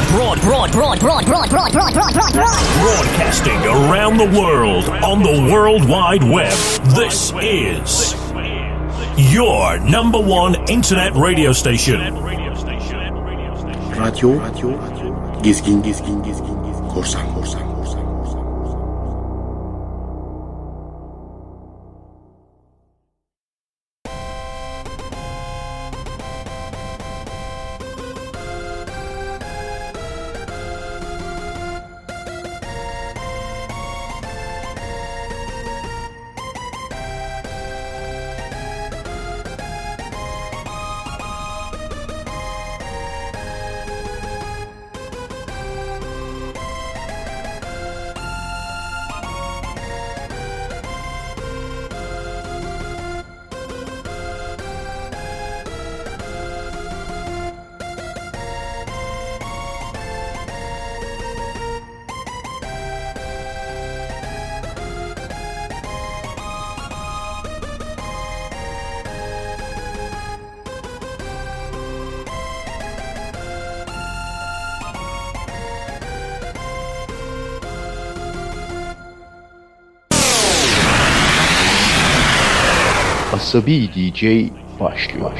Broadcasting around the world on the World Wide Web. This is your number one internet radio station. Radyo Gezgin Korsan. Asabi DJ başlıyor.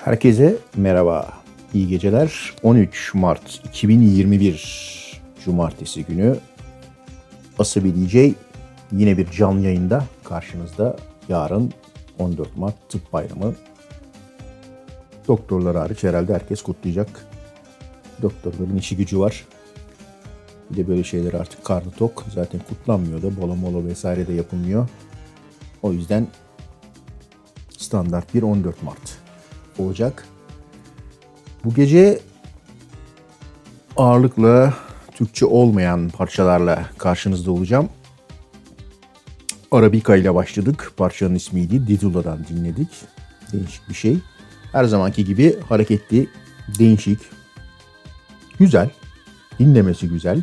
Herkese merhaba, iyi geceler. 13 Mart 2021 Cumartesi günü Asabi DJ yine bir canlı yayında karşınızda. Yarın 14 Mart Tıp Bayramı. Doktorlar hariç herhalde herkes kutlayacak. Doktorların işi gücü var. Bir de böyle şeyler artık karnı tok. Zaten kutlanmıyor da, bola mola vesaire de yapılmıyor. O yüzden standart bir 14 Mart olacak. Bu gece ağırlıkla Türkçe olmayan parçalarla karşınızda olacağım. Arabika ile başladık. Parçanın ismiydi. Didula'dan dinledik. Değişik bir şey. Her zamanki gibi hareketli, değişik, güzel, dinlemesi güzel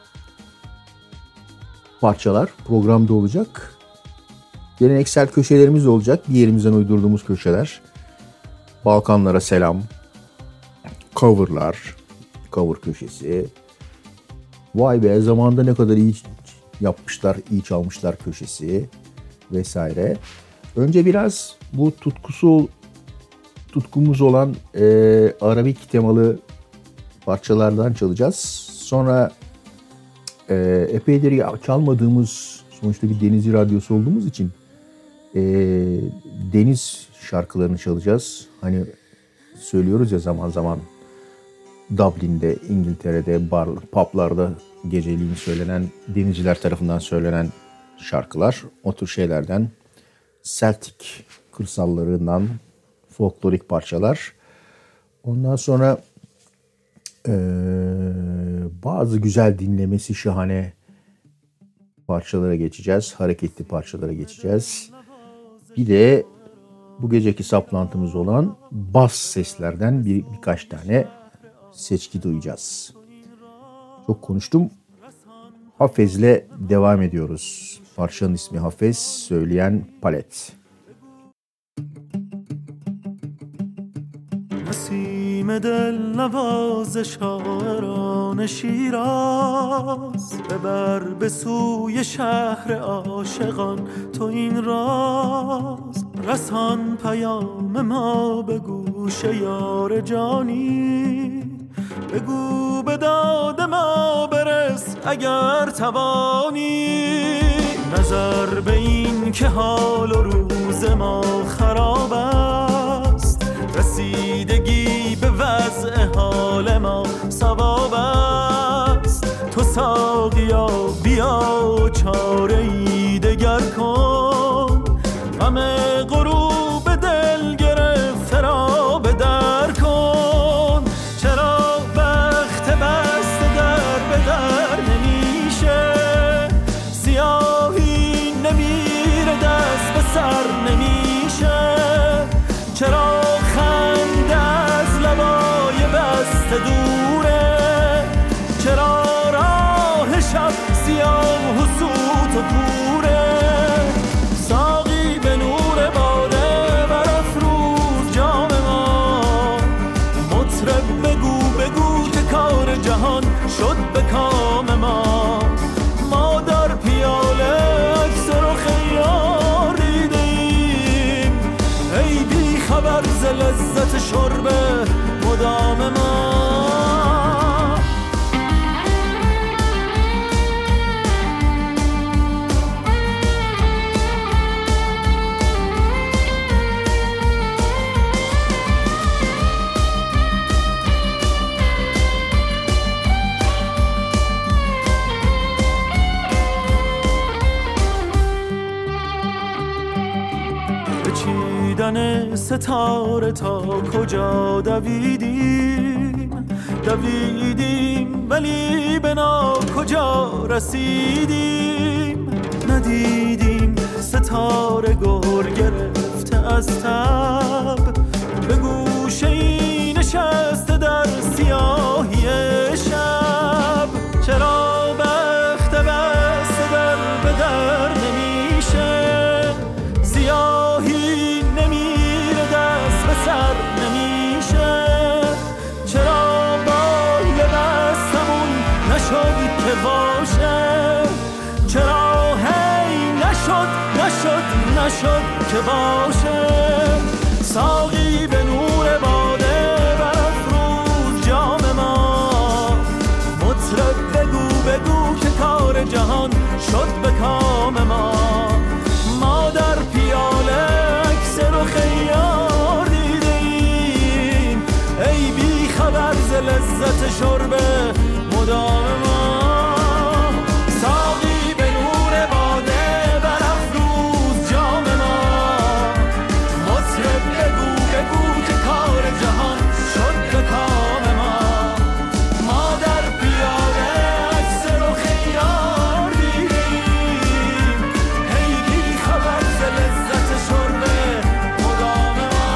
parçalar programda olacak. Geleneksel köşelerimiz olacak. Bir yerimizden uydurduğumuz köşeler. Balkanlara selam, coverlar, cover köşesi. Vay be, zamanında ne kadar iyi yapmışlar, iyi çalmışlar köşesi vesaire. Önce biraz bu tutkumuz olan Arabik temalı parçalardan çalacağız. Sonra epeydir çalmadığımız, sonuçta bir denizci radyosu olduğumuz için deniz şarkılarını çalacağız. Hani söylüyoruz ya zaman zaman Dublin'de, İngiltere'de, publarda geceliğin söylenen, denizciler tarafından söylenen şarkılar. O tür şeylerden, Celtic kırsallarından folklorik parçalar. Ondan sonra bazı güzel, dinlemesi şahane parçalara geçeceğiz. Hareketli parçalara geçeceğiz. Bir de bu geceki saplantımız olan bas seslerden birkaç tane seçki duyacağız. Çok konuştum. Hafez'le devam ediyoruz. Parçanın ismi Hafez, söyleyen Palet. نسیم دل نواز شاعران شیراز ببر به سوی شهر عاشقان تو این راز رسان پیام ما به گوش یار جانی بگو به داد ما برس اگر توانی نظر به این که حال و روز ما خراب است رسیدگی به وضع حال ما ثواب است تو ساقیا بیا چاره ای دگر کن غم غروب دل گرفته را به در کن چرا وقت بست در به در نمیشه سیاهی نمیره دست به سر نمیشه چرا دوره چرا راه شب سیاه و سوت و کوره ساقی به نور باده برافروز جام ما مطرب بگو بگو که کار جهان شد به کام ما ما در پیاله عکس رخ یار دیدیم ای بی خبر ز لذت شرب مدام ما چیدن ستاره تا کجا دویدیم ولی به کجا رسیدیم ندیدیم ستاره گر گرفته از تب به گوشه ای نشسته در سیاهی شب چرا بخت بسته در به در نمیشه سیاهی نمیره دست به سر نمیشه چرا بال بستمون نشد که باشه چرا هی نشد که باشه ساقی به نور خبر ز لذت شربه مدام ما ساقی به نور باده برافروز جام ما مطرب بگو بگو که کار جهان شد به کام ما ما در پیاده عکس رخ یار دیدیم هی خبر ز لذت شربه مدام ما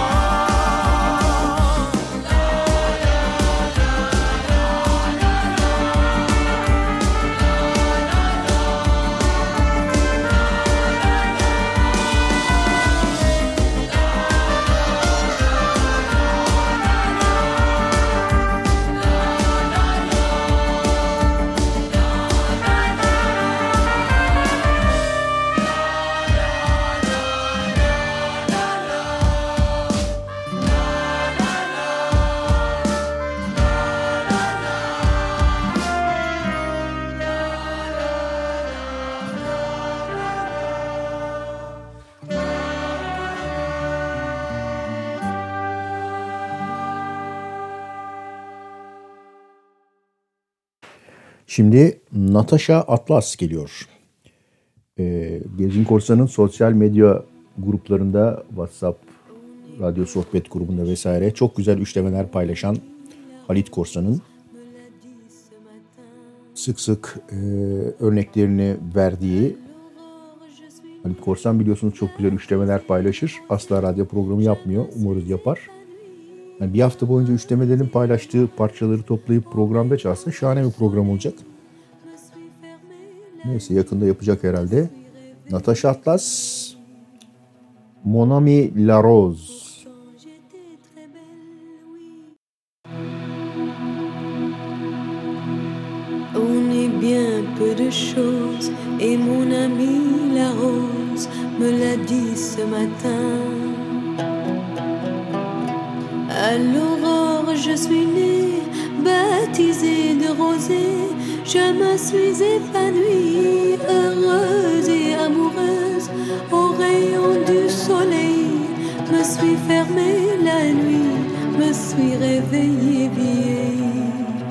Şimdi Natasha Atlas geliyor. Gezgin Korsan'ın sosyal medya gruplarında, WhatsApp, radyo sohbet grubunda vesaire çok güzel üçlemeler paylaşan Halit Korsan'ın sık sık örneklerini verdiği, Halit Korsan biliyorsunuz çok güzel üçlemeler paylaşır. Asla radyo programı yapmıyor. Umarız yapar. Yani bir hafta boyunca üçlemelerin paylaştığı parçaları toplayıp programda çalsa şahane bir program olacak. Neyse yakında yapacak herhalde. Natasha Atlas, Mon Ami La Rose. On est bien peu de choses et mon ami la rose me l'a dit ce matin. À l'aurore je suis née, baptisée de rosée. Je me suis épanouie, heureuse et amoureuse. Au rayon du soleil, me suis fermée la nuit, me suis réveillée vieille.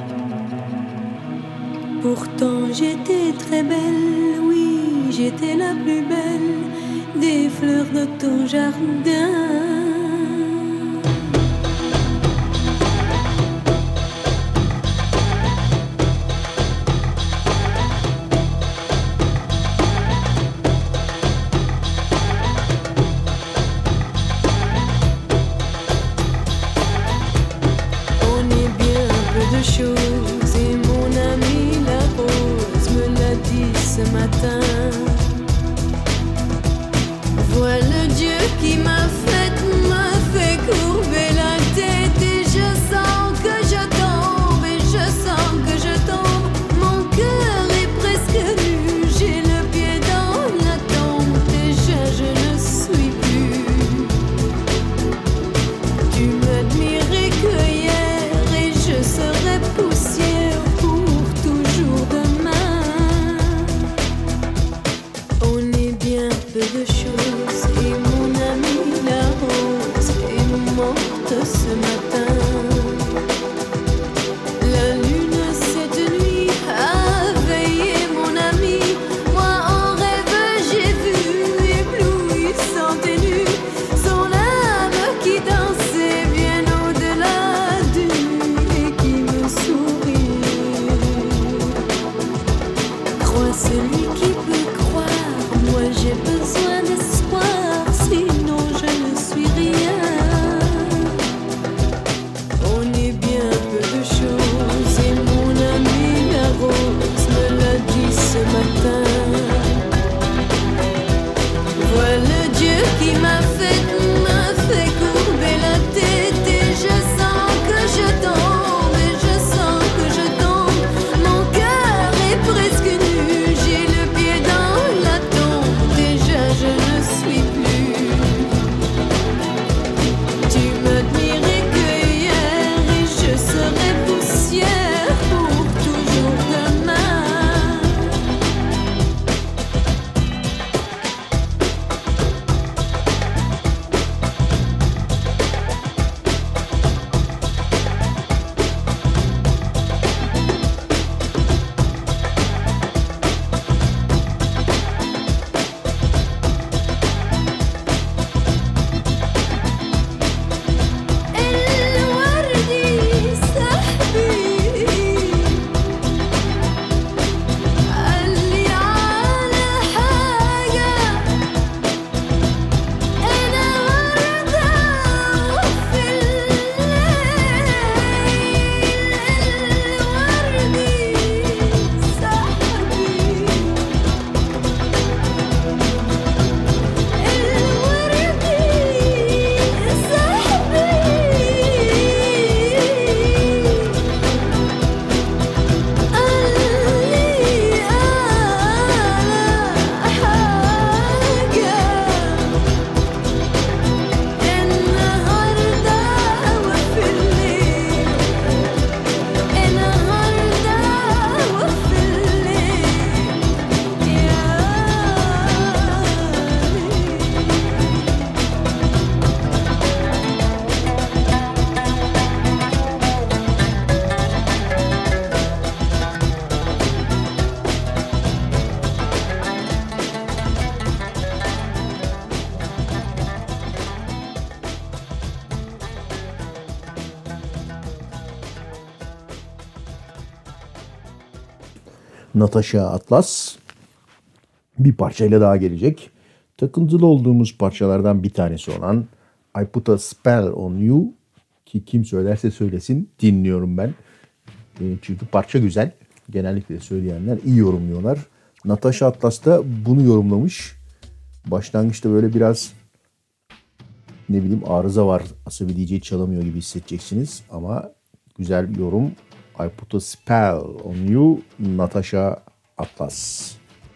Pourtant j'étais très belle, oui, j'étais la plus belle des fleurs de ton jardin. Natasha Atlas bir parçayla daha gelecek. Takıntılı olduğumuz parçalardan bir tanesi olan I Put a Spell on You, ki kim söylerse söylesin dinliyorum ben. Çünkü parça güzel. Genellikle söyleyenler iyi yorumluyorlar. Natasha Atlas da bunu yorumlamış. Başlangıçta böyle biraz arıza var. Asabi DJ çalamıyor gibi hissedeceksiniz. Ama güzel bir yorum. I Put a Spell on You, Natasha Atlas.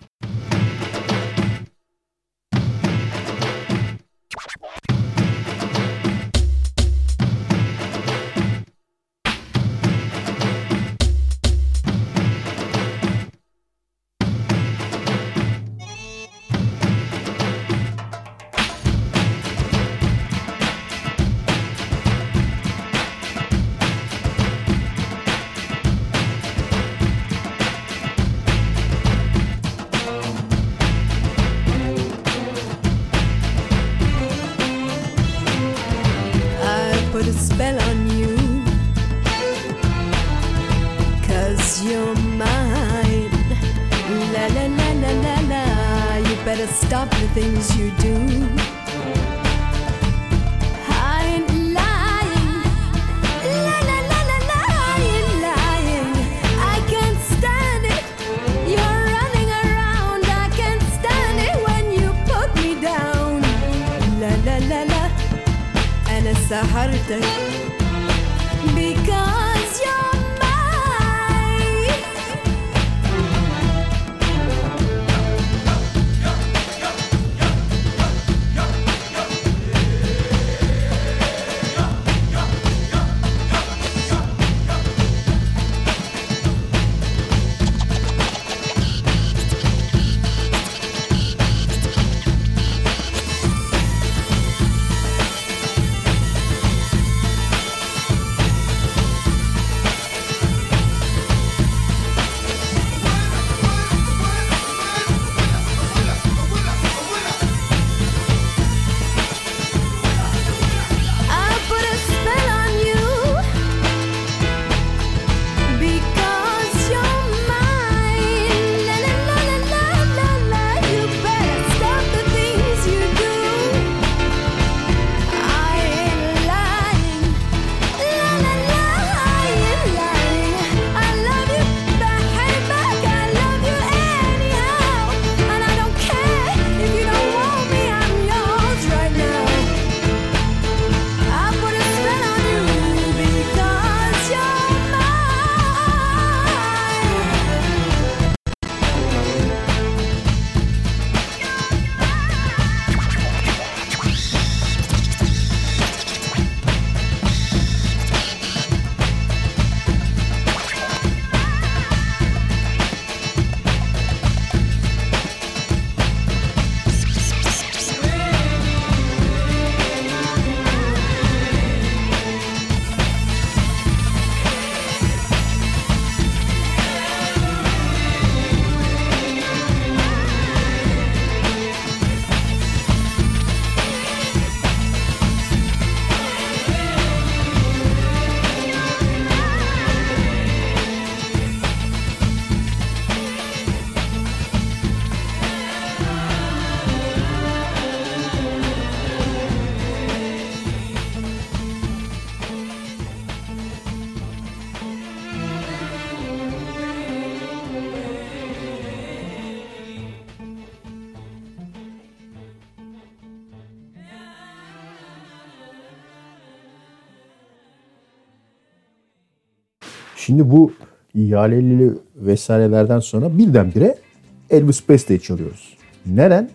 Şimdi bu ihaleli vesairelerden sonra birdenbire Elvis Presley çalıyoruz. Neden?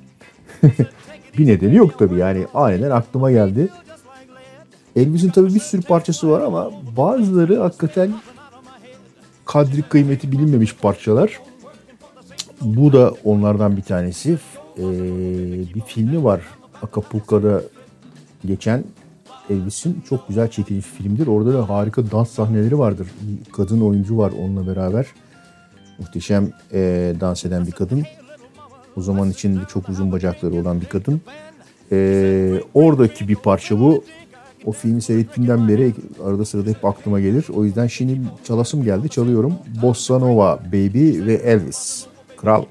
Bir nedeni yok tabii, yani aniden aklıma geldi. Elvis'in tabii bir sürü parçası var ama bazıları hakikaten kadri kıymeti bilinmemiş parçalar. Bu da onlardan bir tanesi. Bir filmi var, Acapulco'da geçen, Elvis'in çok güzel çekilmiş filmdir. Orada da harika dans sahneleri vardır. Bir kadın oyuncu var onunla beraber. Muhteşem dans eden bir kadın. O zaman için çok uzun bacakları olan bir kadın. Oradaki bir parça bu. O filmi seyrettiğimden beri arada sırada hep aklıma gelir. O yüzden şimdi çalasım geldi. Çalıyorum. Bossa Nova Baby ve Elvis. Kral.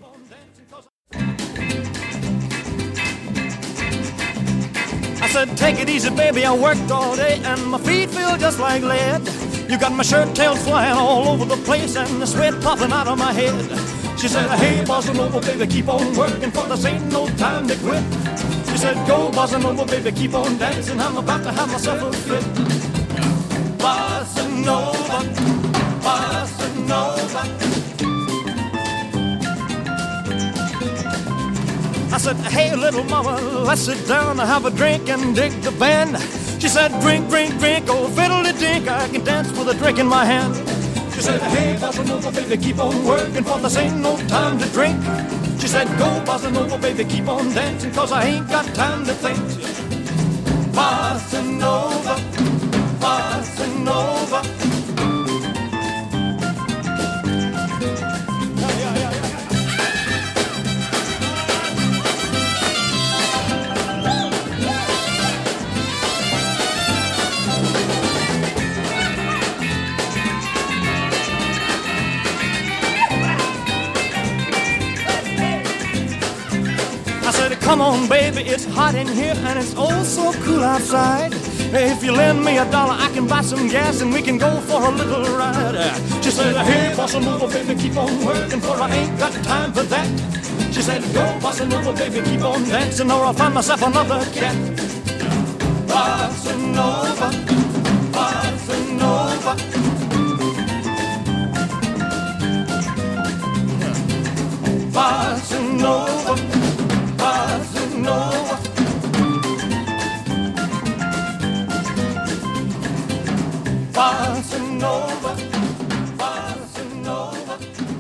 I said, take it easy, baby, I worked all day and my feet feel just like lead. You got my shirt tails flying all over the place and the sweat popping out of my head. She said, hey, bossa nova, baby, keep on working, for this ain't no time to quit. She said, go, bossa nova, baby, keep on dancing, I'm about to have myself a fit. Bossa nova, bossa nova. I said, hey, little mama, let's sit down and have a drink and dig the band. She said, drink, drink, drink, oh, fiddle-de-dink, I can dance with a drink in my hand. She said, hey, bossa nova, baby, keep on working, for this ain't no time to drink. She said, go, bossa nova, baby, keep on dancing, cause I ain't got time to think. Bossa nova, bossa nova. Come on, baby, it's hot in here and it's oh so cool outside. If you lend me $1, I can buy some gas and we can go for a little ride. She said, hey, bossa nova, baby, keep on working, for I ain't got time for that. She said, go, bossa nova, baby, keep on dancing, or I'll find myself another cat. Bossa nova, bossa nova. Bossa nova. Bossa nova. Bossa nova. Bossa nova.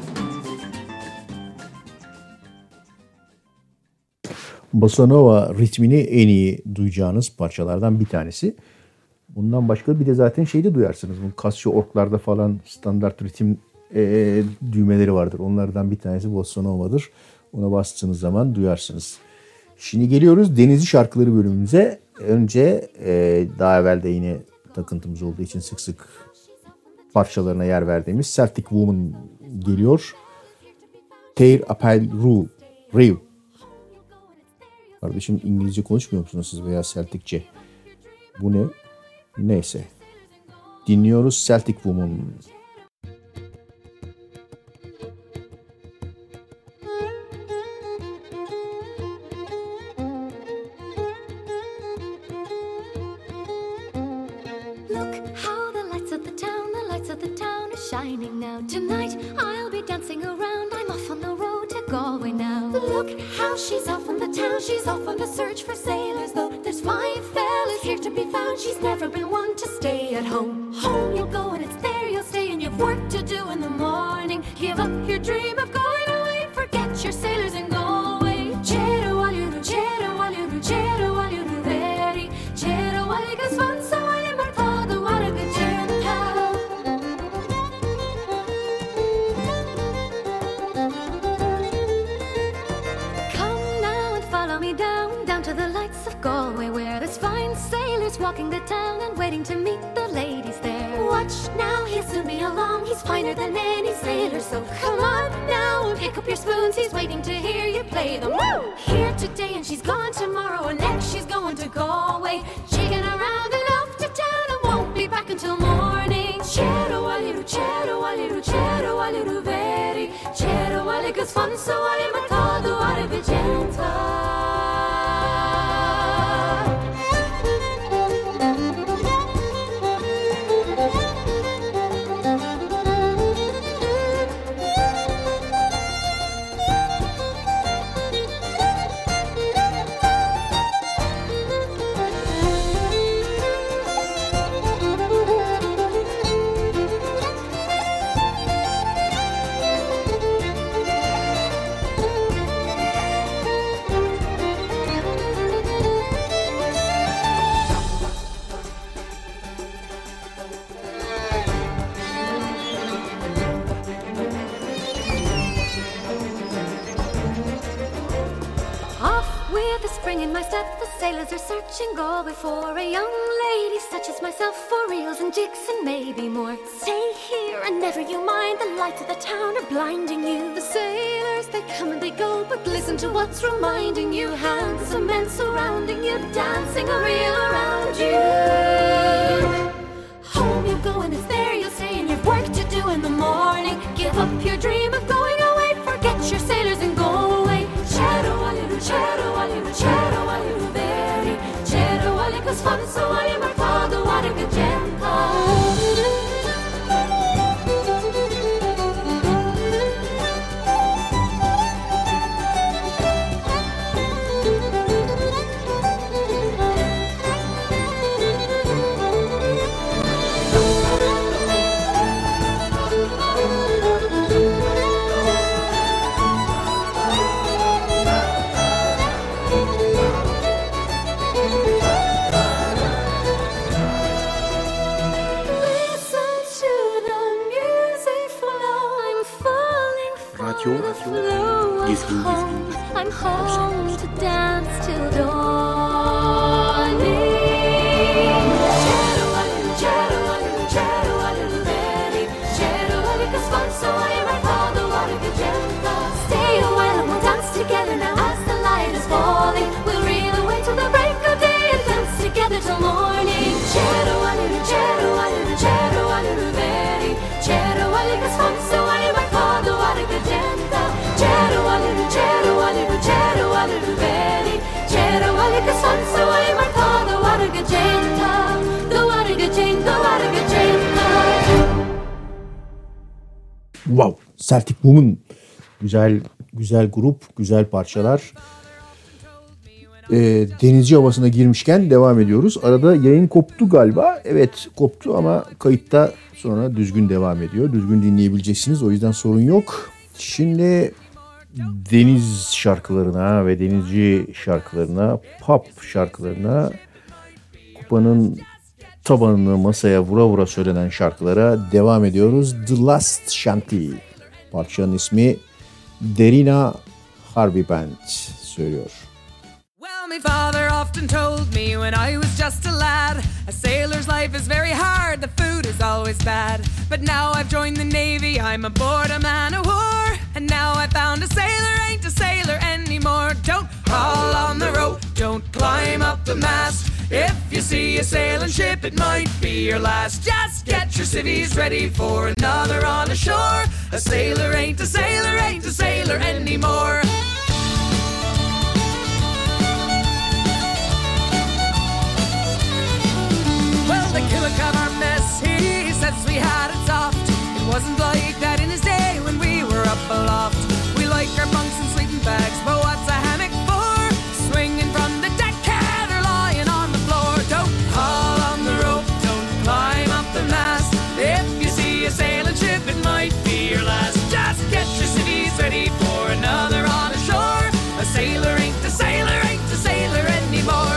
Bossa Nova ritmini en iyi duyacağınız parçalardan bir tanesi. Bundan başka bir de zaten şeyde duyarsınız. Bu Casio orklarda falan standart ritim düğmeleri vardır. Onlardan bir tanesi Bossa Nova'dır. Ona bastığınız zaman duyarsınız. Şimdi geliyoruz Denizci Şarkıları bölümümüze. Önce daha evvel de yine takıntımız olduğu için sık sık parçalarına yer verdiğimiz Celtic Woman geliyor. Teir Appel Riu. Kardeşim İngilizce konuşmuyor musunuz siz veya Celticce? Bu ne? Neyse. Dinliyoruz Celtic Woman. Shining now. Tonight I'll be dancing around. I'm off on the road to Galway now. Look how she's off on the town. She's off on the search for sailors, though there's 5 fellas here to be found. She's never been one to stay at home. Home you'll go and it's there you'll stay, and you've work to do in the morning. Give up your dream of going away. Forget your sailors and go away. Chero aliru, chero aliru, chero aliru veri. Chero aligas fun so I'm a father, what a good Galway, where there's fine sailors walking the town and waiting to meet the ladies there. Watch now, he'll soon be along. He's finer than any sailor, so come on now and pick up your spoons. He's waiting to hear you play them. Woo! Here today and she's gone tomorrow, and next she's going to Galway, shaking around and off to town and won't be back until morning. Chero aliru, chero aliru, chero aliru veri. Chero aligus fun so I'm a todo are vigenta. spring in my step. The sailors are searching Galway for a young lady such as myself, for reels and jigs and maybe more. Stay here and never you mind, the lights of the town are blinding you. The sailors, they come and they go, but listen to what's reminding you. Handsome men surrounding you, dancing a reel around you. Home you go and it's there you'll stay, and you've work to do in the morning. Give up your dream of going away, forget your sailors and go away. Chero aliru, chero aliru, chero aliru veri. Chero alikus fun so ali martado ariga genka. I'm home to dance till dawning. Chero aliru, chero aliru, chero aliru veri. Chero alikus fun so ali martado ariga genka. Stay a while and we'll dance together now as the light is falling. We'll reel away till the break of day and dance together till morning. Chero aliru, chero aliru, chero aliru veri. Chero alikus fun so ali martado ariga genka. Chero aliru, chero aliru, chero aliru veri. Chero alikus fun so ali martado ariga genka. Do ariga genka, ariga genka. Wow, Celtic Woman. Güzel grup, güzel parçalar. Denizci havasına girmişken devam ediyoruz. Arada yayın koptu galiba. Evet, koptu ama kayıtta sonra düzgün devam ediyor. Düzgün dinleyebileceksiniz. O yüzden sorun yok. Şimdi deniz şarkılarına ve denizci şarkılarına, pop şarkılarına, kupanın tabanını masaya vura vura söylenen şarkılara devam ediyoruz. The Last Shanty. Parçanın ismi Derina Harvey Band söylüyor. Well, my father often told me when I was just a lad, a sailor's life is very hard, the food is always bad. But now I've joined the Navy, I'm aboard a man of war, and now I found a sailor ain't a sailor anymore. Don't haul on the rope, don't climb up the mast. If you see a sailing ship, it might be your last. Just get your civvies ready for another on the shore. A sailor ain't a sailor, ain't a sailor anymore. The Killick of our mess, he says we had it soft. It wasn't like that in his day when we were up aloft. We like our bunks and sleeping bags, but what's a hammock for? Swinging from the deck, or lying on the floor. Don't haul on the rope, don't climb up the mast. If you see a sailing ship, it might be your last. Just get your civvies ready for another on the shore. A sailor ain't a sailor, ain't a sailor anymore.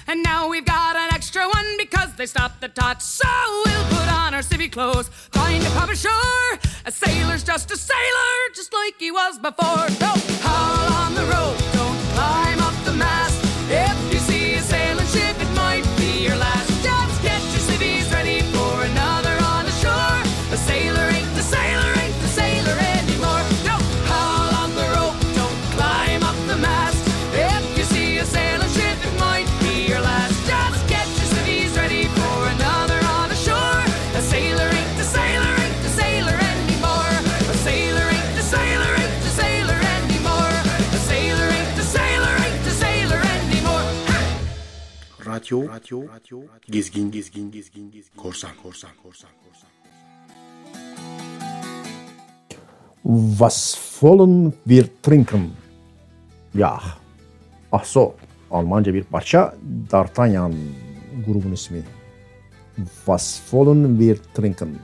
And now we've got an extra one because they stopped the tots. So we'll put on our civvy clothes, find a pub ashore. A sailor's just a sailor, just like he was before. No, howl on the rope, don't climb up the mast. If you see a sailing ship, it might be your last. Just get your civvies ready for another on the shore. A sailor ain't the sailor, ain't the sailor anymore. No, howl on the rope, don't climb up the mast. If you see a sailing ship, it might be your last. Just get your civvies ready for another on the shore. A sailor ain't the sailor, ain't the sailor anymore. A sailor ain't the sailor, ain't the sailor anymore. A sailor ain't the sailor, ain't the sailor anymore. Radyo, gezgin, korsan. Was wollen wir trinken? Ya, ah so, Almanca bir parça, D'Artagnan grubun ismi. Was wollen wir trinken?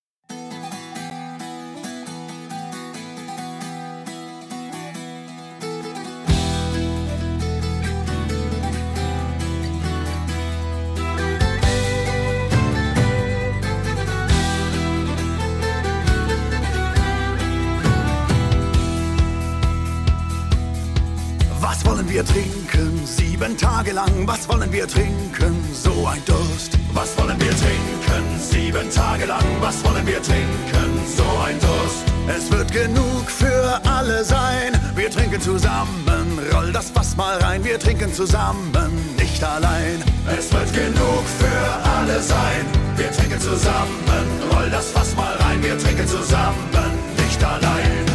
Was wollen wir trinken? 7 Tage lang, was wollen wir trinken? So ein Durst. Was wollen wir trinken? 7 Tage lang, was wollen wir trinken? So ein Durst. Es wird genug für alle sein. Wir trinken zusammen, roll das Fass mal rein. Wir trinken zusammen, nicht allein. Es wird genug für alle sein. Wir trinken zusammen, roll das Fass mal rein. Wir trinken zusammen, nicht allein.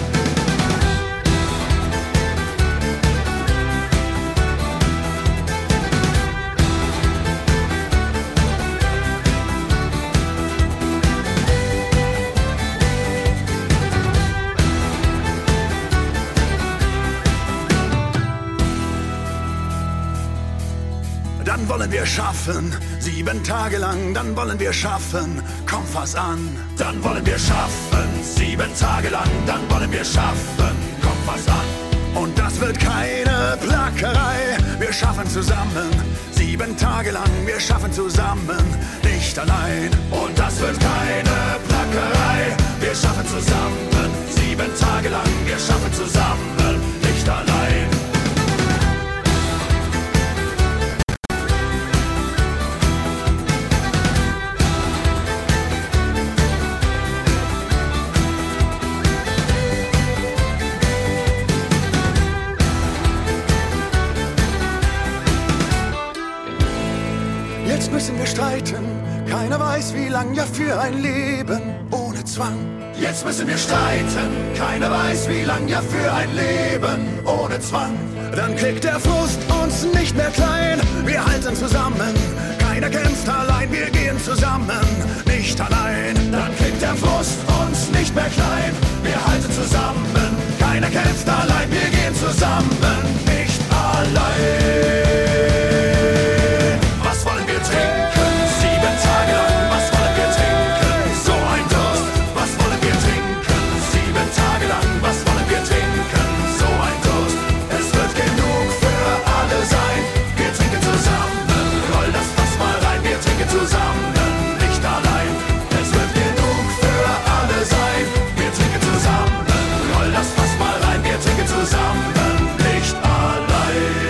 Dann wollen wir schaffen, 7 Tage lang, dann wollen wir schaffen, komm fass an. Dann wollen wir schaffen, 7 Tage lang, dann wollen wir schaffen, komm fass an. Und das wird keine Plackerei, wir schaffen zusammen, 7 Tage lang, wir schaffen zusammen, nicht allein. Und das wird keine Plackerei, wir schaffen zusammen, 7 Tage lang, wir schaffen zusammen, nicht allein. Jetzt müssen wir streiten, keiner weiß wie lang, ja für ein Leben ohne Zwang. Jetzt müssen wir streiten, keiner weiß wie lang, ja für ein Leben ohne Zwang. Dann kriegt der Frust uns nicht mehr klein, wir halten zusammen, keiner kämpft allein, wir gehen zusammen, nicht allein. Dann kriegt der Frust uns nicht mehr klein, wir halten zusammen, keiner kämpft allein, wir gehen zusammen, nicht allein. Was wollen wir trinken? 7 Tage lang, was wollen wir trinken? So ein Durst. Was wollen wir trinken? 7 Tage lang, was wollen wir trinken? So ein Durst. Es wird genug für alle sein. Wir trinken zusammen, roll das Fass mal rein. Wir trinken zusammen, nicht allein. Es wird genug für alle sein. Wir trinken zusammen, roll das Fass mal rein. Wir trinken zusammen, nicht allein.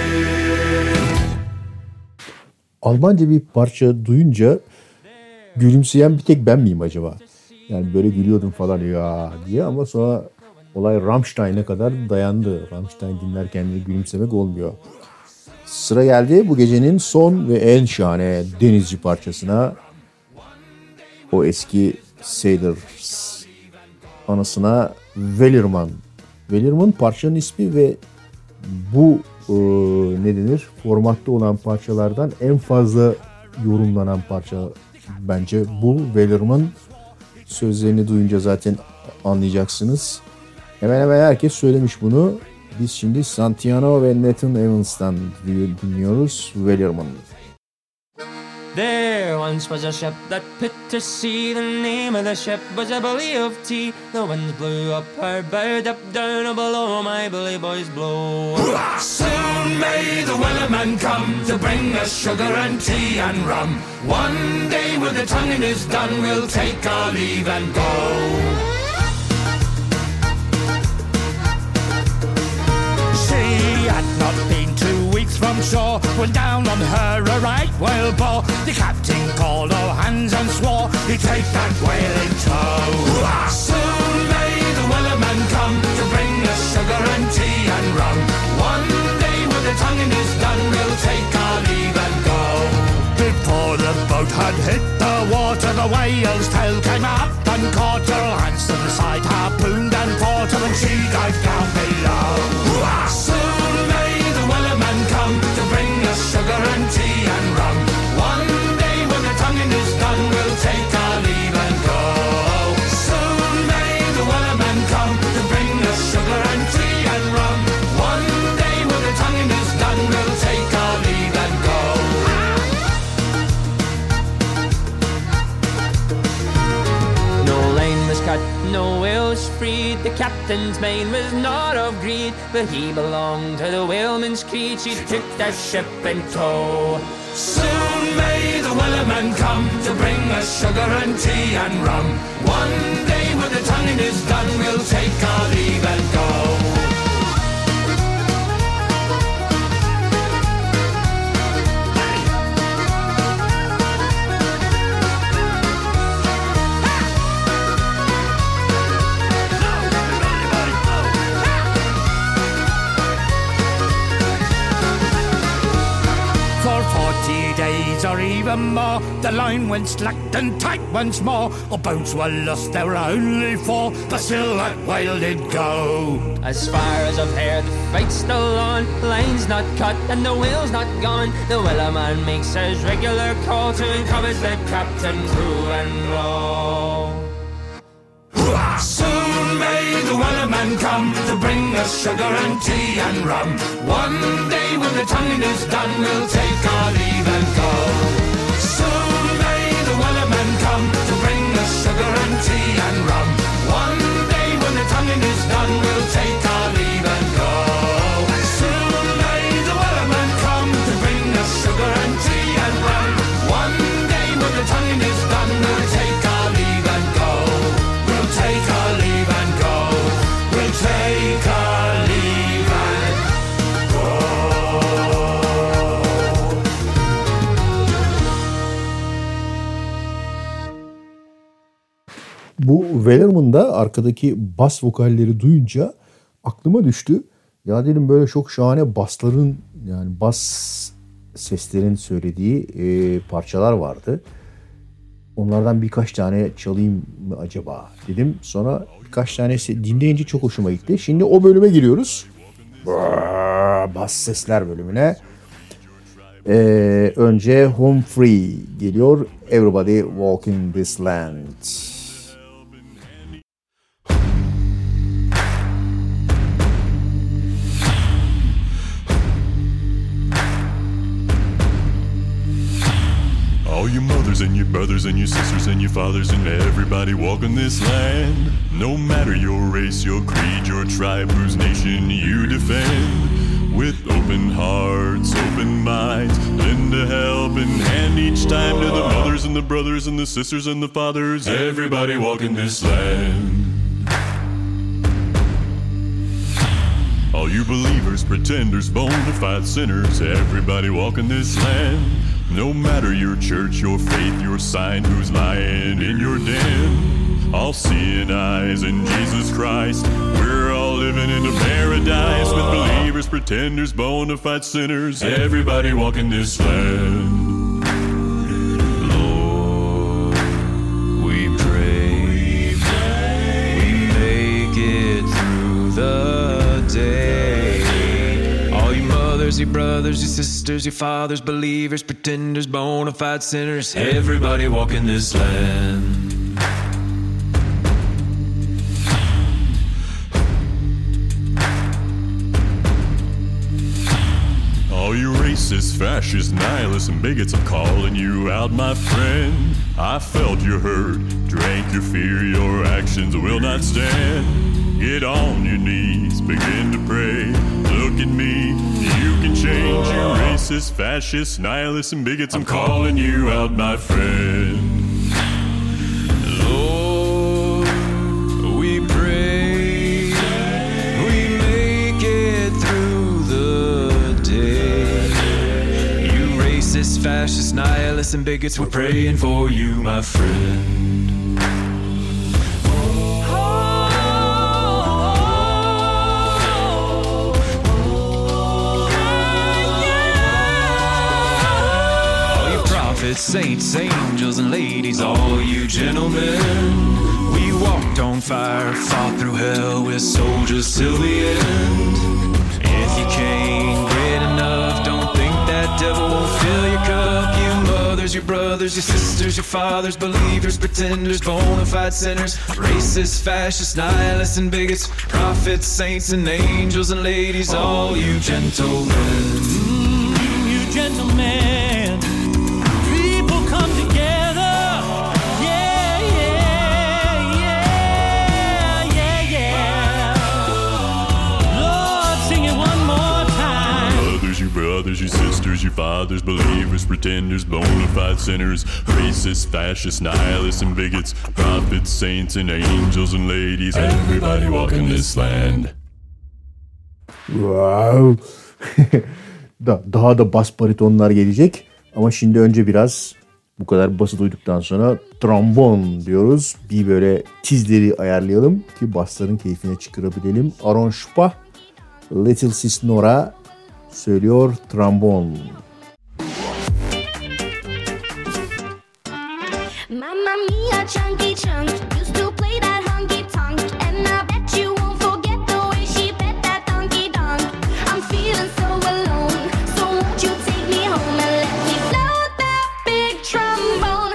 Almanca bir parça duyunca gülümseyen bir tek ben miyim acaba? Yani böyle gülüyordum falan ya diye ama sonra olay Rammstein'e kadar dayandı. Rammstein dinlerken de gülümsemek olmuyor. Sıra geldi bu gecenin son ve en şahane denizci parçasına. O eski Sailors anısına Wellerman. Wellerman parçanın ismi ve bu ne denir? Formatta olan parçalardan en fazla yorumlanan parça bence bu. Wellerman sözlerini duyunca zaten anlayacaksınız. Hemen hemen herkes söylemiş bunu. Biz şimdi Santino ve Nathan Evans'tan dinliyoruz Wellerman. There once was a ship that put to sea. The name of the ship was a Billy of Tea. The winds blew up her bow, up down or below, my bully boys blow. Soon may the Wellerman come to bring us sugar and tea and rum. One day when the tonguing is done, we'll take our leave and go. She had not been 2 weeks from shore when down on her a right whale bore. The captain called all hands and swore he'd take that whale in tow. Soon may the Wellerman come to bring us sugar and tea and rum. One day when the tonguing is done, we'll take our leave and go. Before the boat had hit the water, the whale's tail came up and caught her. Hands to the side, harpooned and fought her, and she dived down below. Soon may the Wellerman come to bring us sugar and tea and rum. One day when the tonguing is done, we'll take our leave and go. Soon may the Wellerman come to bring us sugar and tea and rum. One day when the tonguing is done, we'll take our leave and go. No line was cut, no whales freed. The captain's mind was not of greed, but he belonged to the whaleman's creed. She took that ship in tow. Soon may the Wellerman come to bring us sugar and tea and rum. One day when the tonguing is done, we'll take our leave and go. Days or even more, the line went slack and tight once more. Our boats were lost, there were only 4, but still that whale did go. As far as I've heard, the fight's still on. Line's not cut and the whale's not gone. The Wellerman makes his regular call to encourage the captain, crew and row. Soon may the Wellerman come to bring us sugar and tea and rum. One day when the tonguing is done, we'll take our leave and go. Soon may the Wellerman come to bring us sugar and tea and rum. One day when the tonguing is done, we'll take our leave and go. Soon may the Wellerman come to bring us sugar and tea and rum. One day when the tonguing is done, we'll take our leave and go. We'll take our leave and go. We'll take our leave and go. Bu Wellerman'da arkadaki bas vokalleri duyunca aklıma düştü. Ya dedim böyle çok şahane basların, yani bas seslerin söylediği parçalar vardı. Onlardan birkaç tane çalayım mı acaba dedim. Sonra birkaç tanesi dinleyince çok hoşuma gitti. Şimdi o bölüme giriyoruz. Bas sesler bölümüne. Önce Home Free geliyor. Everybody Walking This Land. All your mothers and your brothers and your sisters and your fathers and everybody walking this land. No matter your race, your creed, your tribe, whose nation you defend. With open hearts, open minds, lend a helping hand each time to the mothers and the brothers and the sisters and the fathers. Everybody walking this land. All you believers, pretenders, bona fide sinners, everybody walking this land. No matter your church, your faith, your sign, who's lying in your den. All seeing eyes in Jesus Christ. We're all living in a paradise with believers, pretenders, bona fide sinners. Everybody walking this land. Lord, we pray, we make it through the day. All you mothers, your brothers, your sisters, your fathers, believers, pretenders, bona fide sinners. Everybody walking this land. All you racist, fascist, nihilists, and bigots, I'm calling you out, my friend. I felt your hurt, drank your fear, your actions will not stand. Get on your knees, begin to pray. Look at me, you can change. You racist, fascist, nihilists, and bigots, I'm calling you out, my friend. Lord, we pray we make it through the day. You racist, fascist, nihilists, and bigots, we're praying for you, my friend. Saints, angels, and ladies, all you gentlemen. We walked on fire, fought through hell, we're soldiers till the end. If you can't get enough, don't think that devil won't fill your cup. You mothers, your brothers, your sisters, your fathers, believers, pretenders, bona fide sinners, racists, fascists, nihilists, and bigots, prophets, saints, and angels, and ladies, all you gentlemen. You gentlemen. Come together, yeah, yeah, yeah, yeah, yeah. Lord, sing it one more time. Brothers, you sisters, you fathers, believers, pretenders, bona fide sinners, racists, fascists, nihilists, and bigots, prophets, saints, and angels, and ladies, everybody walking this land. Wow. Daha da bas baritonlar gelecek. Ama şimdi önce biraz bu kadar bası duyduktan sonra trombon diyoruz. Bir böyle tizleri ayarlayalım ki basların keyfine çıkarabilelim. Aaron Shupah, Little Sis Nora söylüyor trombon. Mamma mia, chunky chunk used to play that honky tonk, and I bet you won't forget the way she bet that donkey donk. I'm feeling so alone, so won't you take me home and let me blow that big trombone?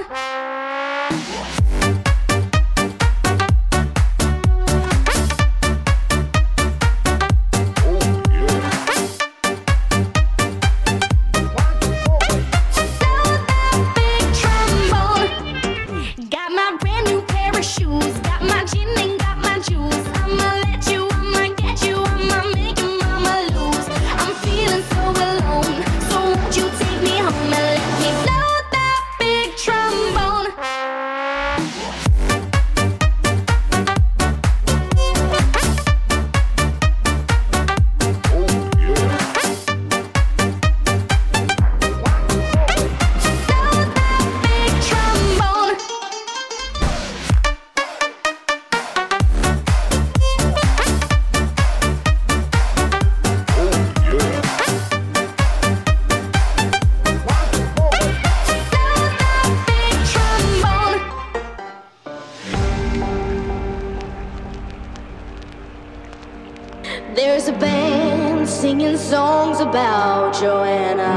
There's a band singing songs about Joanna,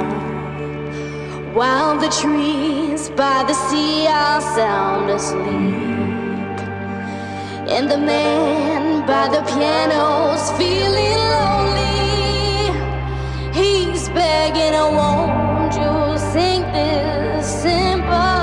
while the trees by the sea are sound asleep, and the man by the piano's feeling lonely. He's begging, "Oh, won't you sing this simple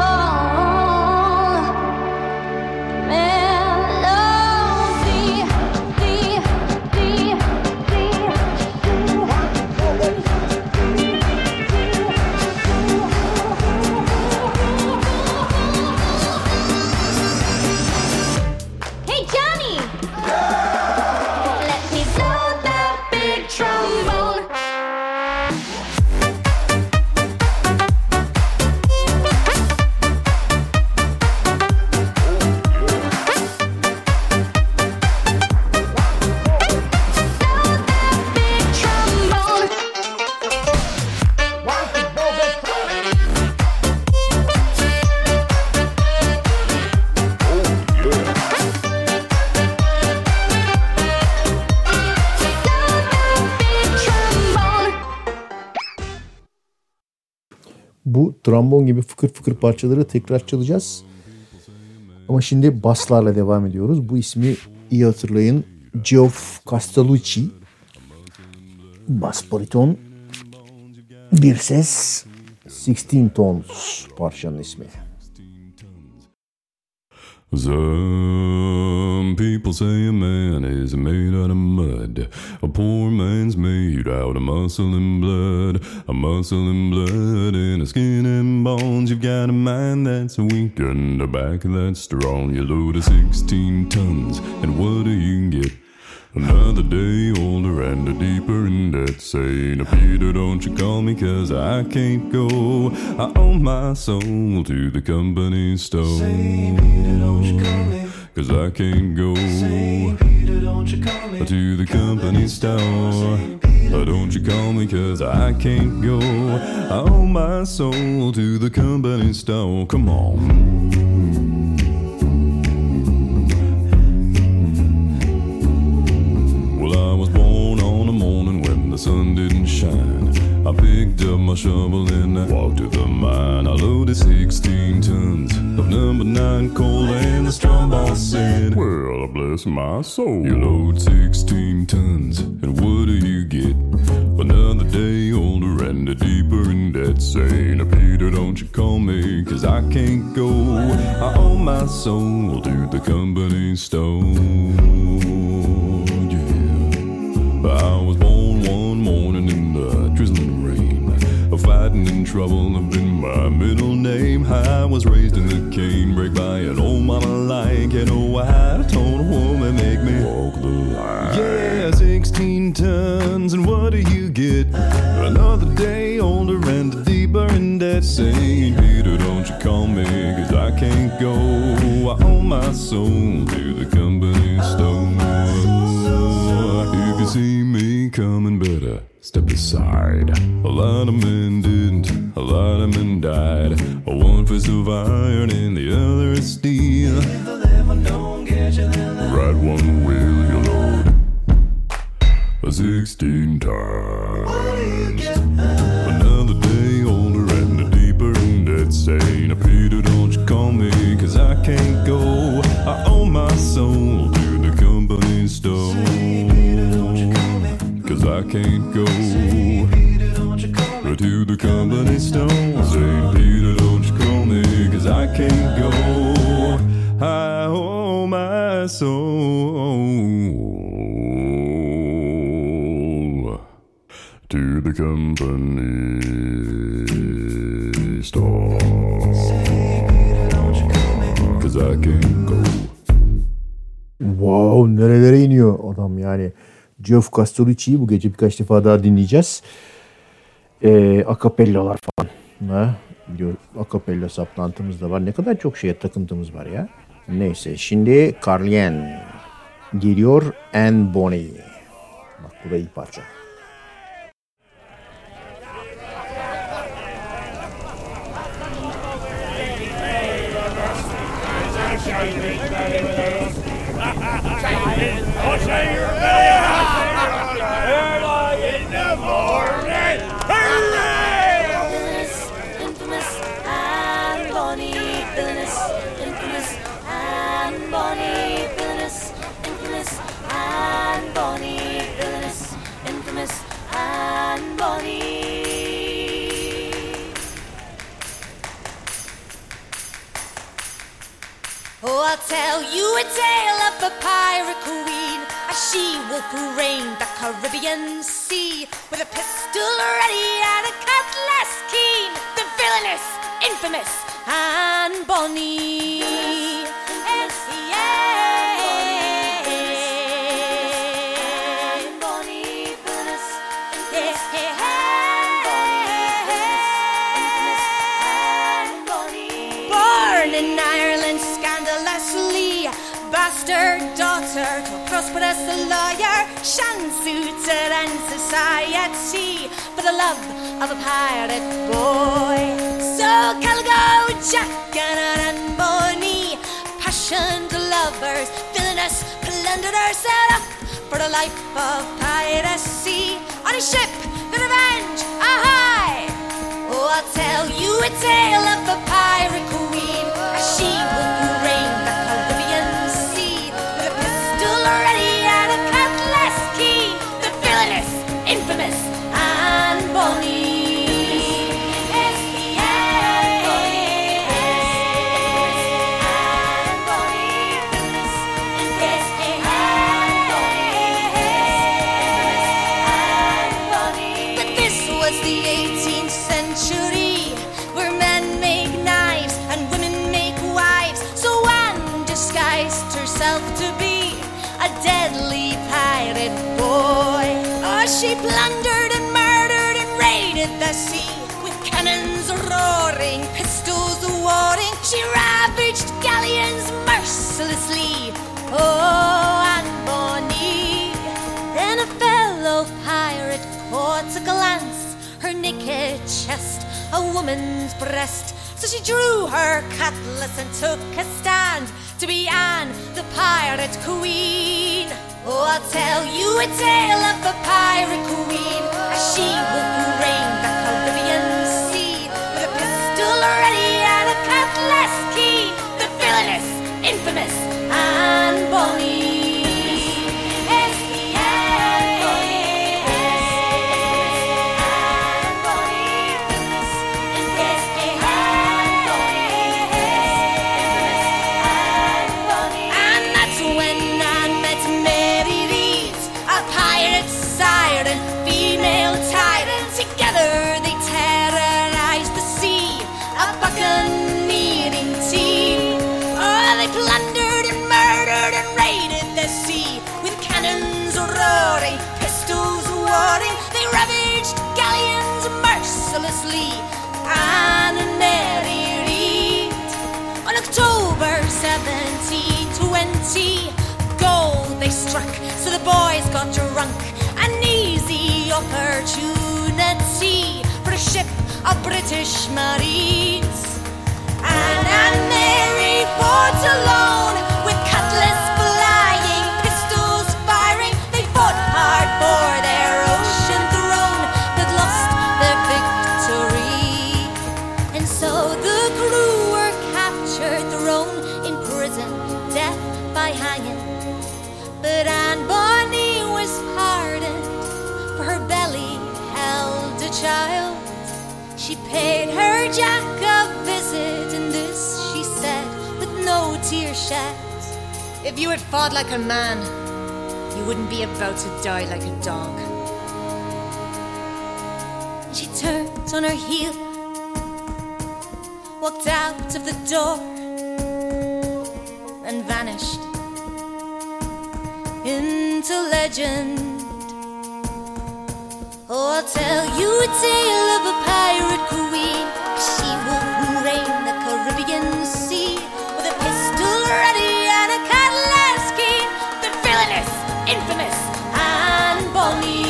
Bu trombon gibi fıkır fıkır parçaları tekrar çalacağız. Ama şimdi baslarla devam ediyoruz. Bu ismi iyi hatırlayın. Geoff Castellucci. Bas bariton. Bir ses, 16 Tons parçanın ismi. Some people say a man is made out of mud. A poor man's made out of muscle and blood. A muscle and blood and a skin and bones. You've got a mind that's weak and a back that's strong. You load of 16 tons, and what do you get? Another day older and a deeper in debt. Saying, Peter, don't you call me, 'cause I can't go. I owe my soul to the company store. Say, Peter, don't you call me, 'cause I can't go. Say, Peter, don't you call me, to the company store. Don't you call me, 'cause I can't go. I owe my soul to the company store. Come on. I was born on a morning when the sun didn't shine. I picked up my shovel and I walked to the mine. I loaded 16 tons of number 9 coal, and the strong boss said, well, bless my soul. You load 16 tons, and what do you get? Another day older and deeper in debt. Saying, Peter, don't you call me, 'cause I can't go. I owe my soul to the company store. I was born one morning in the drizzling rain. Fighting in trouble have been my middle name. I was raised in the canebrake by an old mama like an old white. Told a woman make me walk the line. Yeah, 16 tons, and what do you get? Another day older and deeper in debt. Saying, Peter, don't you call me, 'cause I can't go. I owe my soul to the company store. If you see me coming, better step aside. A lot of men didn't, a lot of men died. One fist of iron and the other is steel. Right one wheel you load 16 times. Another day older and deeper in debt. Saying, Peter, don't you call me, 'cause I can't go. I owe my soul to the company store. 'Cause I can't go to the company store. Say, Peter, don't you call me, 'cause I can't go. I owe my soul to the company store. 'Cause I can't go. Wow, nerelere iniyor adam yani. Geoff Castellucci'yi bu gece birkaç defa daha dinleyeceğiz. Akapellalar falan. Biliyor, akapella saplantımız da var. Ne kadar çok şeye takıntımız var ya. Neyse, şimdi Carlien geliyor, Anne Bonny. Bak bu da iyi parça. Oh, I'll tell you a tale of a pirate queen, a she-wolf who reigned the Caribbean Sea, with a pistol ready and a cutlass keen, the villainous, infamous Anne Bonny. Bastard daughter to a prosperous lawyer, shan-suited and society, for the love of a pirate boy. So Calgo, Jack and Anne Bonny, passionate lovers, villainous plunderers, set up for a life of piracy on a ship, the Revenge, aye! Oh, I'll tell you a tale of a pirate queen, a she-wolf who reigned the Caribbean Sea, with a pistol ready and a cutlass keen, the villainous, infamous Anne Bonny. the 18th century, where men make knives and women make wives. So Anne disguised herself to be a deadly pirate boy. Oh, she plundered and murdered and raided the sea, with cannons roaring, pistols warding. She ravaged galleons mercilessly. Oh, Anne Bonny. Then a fellow pirate caught a glance her naked chest, a woman's breast. So she drew her cutlass and took a stand to be Anne, the pirate queen. Oh, I'll tell you a tale of a pirate queen, as she will reign the Caribbean Sea, with a pistol ready and a cutlass keen, the villainous, infamous Anne Bonny. Together they terrorized the sea, a buccaneering team. Oh, they plundered and murdered and raided the sea, with cannons roaring, pistols warding. They ravaged galleons mercilessly. Anne and Mary Read. On October 1720, gold they struck, so the boys got drunk. An easy opportunity for a ship of British Marines. Anne and Mary fought alone, with cutlass flying, pistols firing. They fought hard for their ocean throne, but lost their victory. And so the crew were captured, thrown in prison, death by hanging. But Anne Bonny was pardoned, for her belly held a child. She paid her Jack a visit, and this she said with no tear shed: if you had fought like a man, you wouldn't be about to die like a dog. And she turned on her heel, walked out of the door, and vanished into legend. Oh, I'll tell you a tale of a pirate queen. She will reign the Caribbean Sea, with a pistol ready and a cutlass keen, the villainous, infamous Anne Bonny.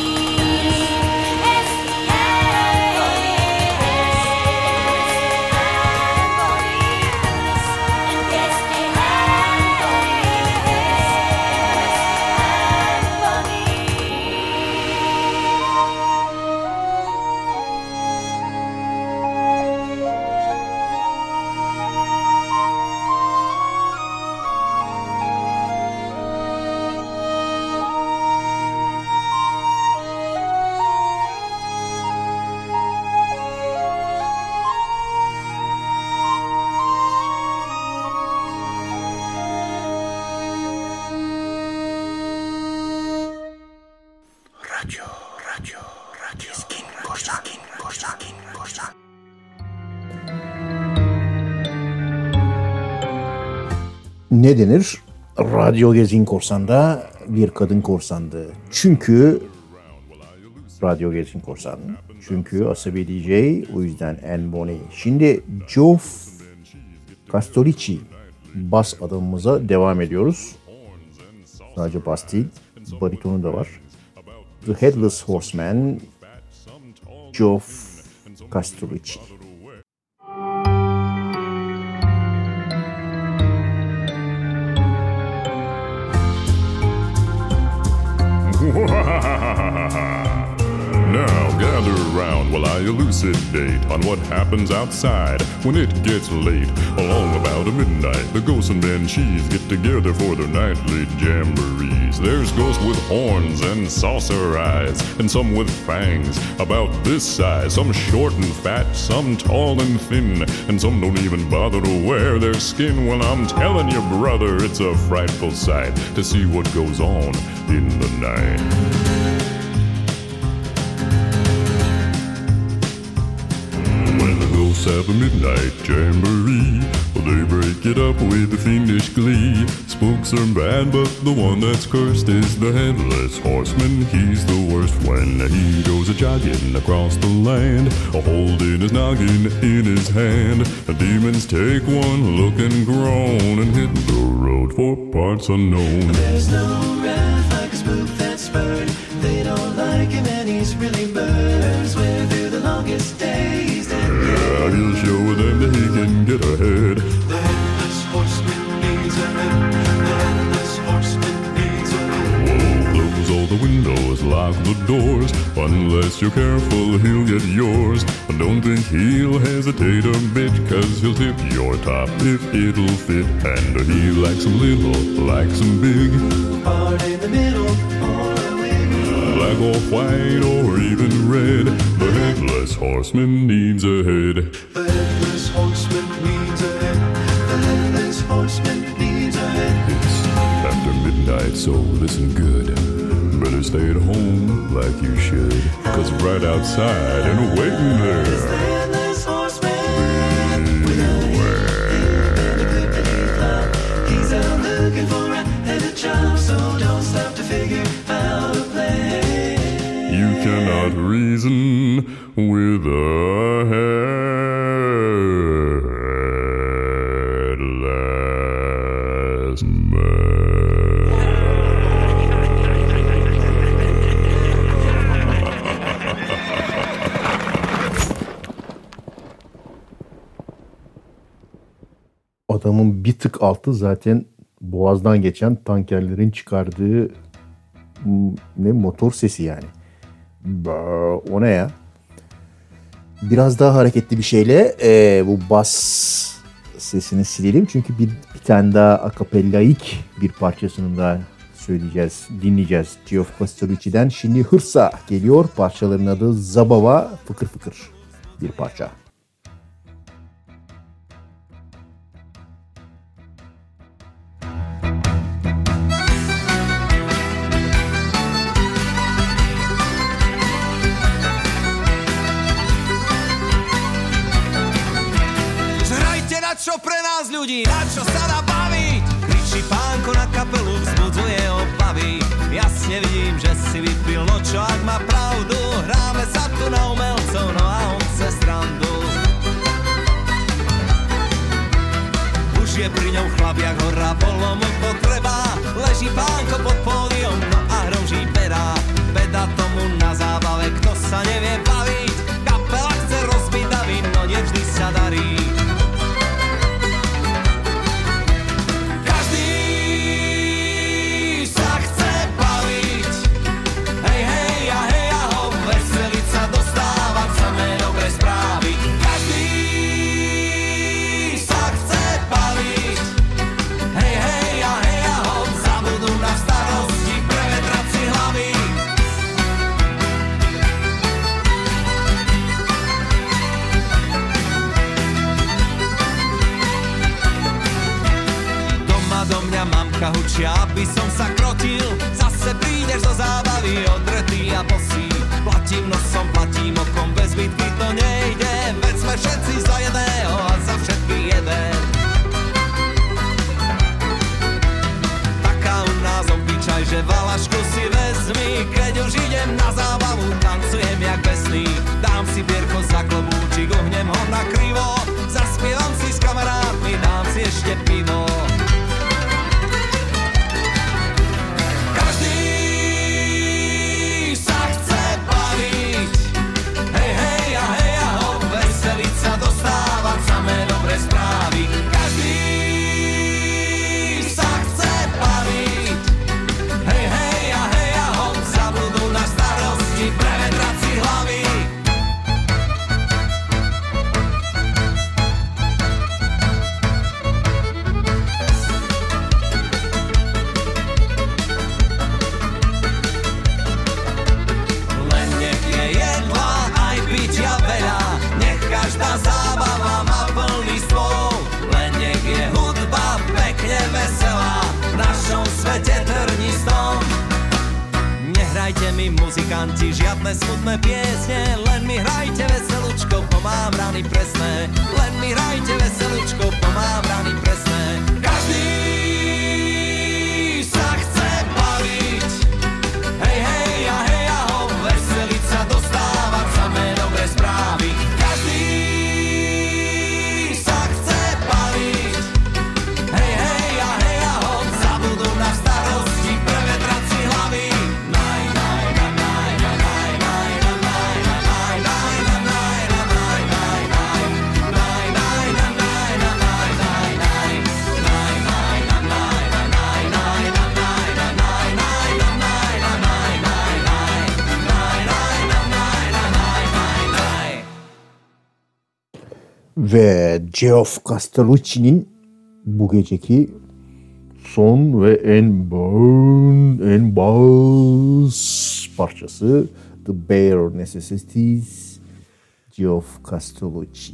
Ne denir? Radyo Gezgin Korsan'da bir kadın korsandı. Çünkü Radyo Gezgin Korsan. Çünkü asabi DJ, o yüzden Anne Bonny. Şimdi Geoff Castellucci bas adamımıza devam ediyoruz. Sadece bas değil, baritonu da var. The Headless Horseman, Geoff Castellucci. Now gather around while I elucidate on what happens outside when it gets late. Along about midnight, the ghosts and banshees get together for their nightly jamborees. There's ghosts with horns and saucer eyes, and some with fangs about this size. Some short and fat, some tall and thin, and some don't even bother to wear their skin. Well, I'm telling you, brother, it's a frightful sight to see what goes on in the night. have a midnight jamboree. Well, they break it up with fiendish glee. Spooks are bad, but the one that's cursed is the headless horseman. He's the worst when he goes a-jogging across the land, holding his noggin in his hand. The demons take one look and groan and hit the road for parts unknown. There's no wrath like a spook that's spurred. They don't like him and he's really burns. We're through the longest days. Yeah, he'll show them that he can get ahead. The headless horseman needs a head. The headless horseman needs a head. Whoa, close all the windows, lock the doors. Unless you're careful, he'll get yours. Don't think he'll hesitate a bit, cause he'll tip your top if it'll fit. And he likes them little, likes them big. Part in the middle or a wig. Black or white or even red. The headless horseman needs a head. The headless horseman needs a head. The headless horseman needs a head. It's after midnight, so listen good. Better stay at home like you should, cause right outside and waiting there, the headless horseman. He's out looking for a headed job, so don't stop to figure out a plan. You cannot reason with a headless man. Adamın bir tık altı zaten boğazdan geçen tankerlerin çıkardığı motor sesi yani. O ne ya? Biraz daha hareketli bir şeyle bu bas sesini silelim. Çünkü bir tane daha akapellaik bir parçasını daha söyleyeceğiz, dinleyeceğiz. Geoff Pastorici'den. Şimdi Hırsa geliyor. Parçaların adı Zabava, fıkır fıkır bir parça. Čo pre nás ľudí, na čo sa dá baviť? Kričí pánko na kapelu, vzbudzuje obavy. Jasne vidím, že si vypil, no čo ak má pravdu? Hráme sa tu na umelcov, no a on chce srandu. Už je pri ňom chlap jak hora, bolo mu potreba. Leží pánko pod pódium, no a hroží pera. Beda tomu na zábave, kto sa nevie baviť. Kapela chce rozbiť davy, no nevždy sa darí. Hučia, aby som sa krotil. Zase prídeš do zábavy odretý a bosý. Platím nosom, platím okom, bez bitky to nejde. Veď sme všetci za jedného a za všetkých jeden. Taká u nás obyčaj, že valašku si vezmi. Keď už idem na zábavu, tancujem jak besný. Dám si bierko za klobúčik, ohnem ho na krivo. Zaspievam si s kamarátmi, dám si ešte pivo. Nehrajte mi muzikanti žiadne smutné piesne, len mi hrajte veselú veselučko, mám rány presné. Len mi hrajte veselučko, mám rány presné. Každý sa chce baviť, hej, hej a hej a ho, veseliť sa, dostávať samé dobré správy. Každý sa chce baviť, hej, hej a hej a ho, zabudú na starosti, prevetrať si hlavy. Ve Geoff Castellucci'nin bu geceki son ve en bass parçası The Bare Necessities, Geoff Castellucci.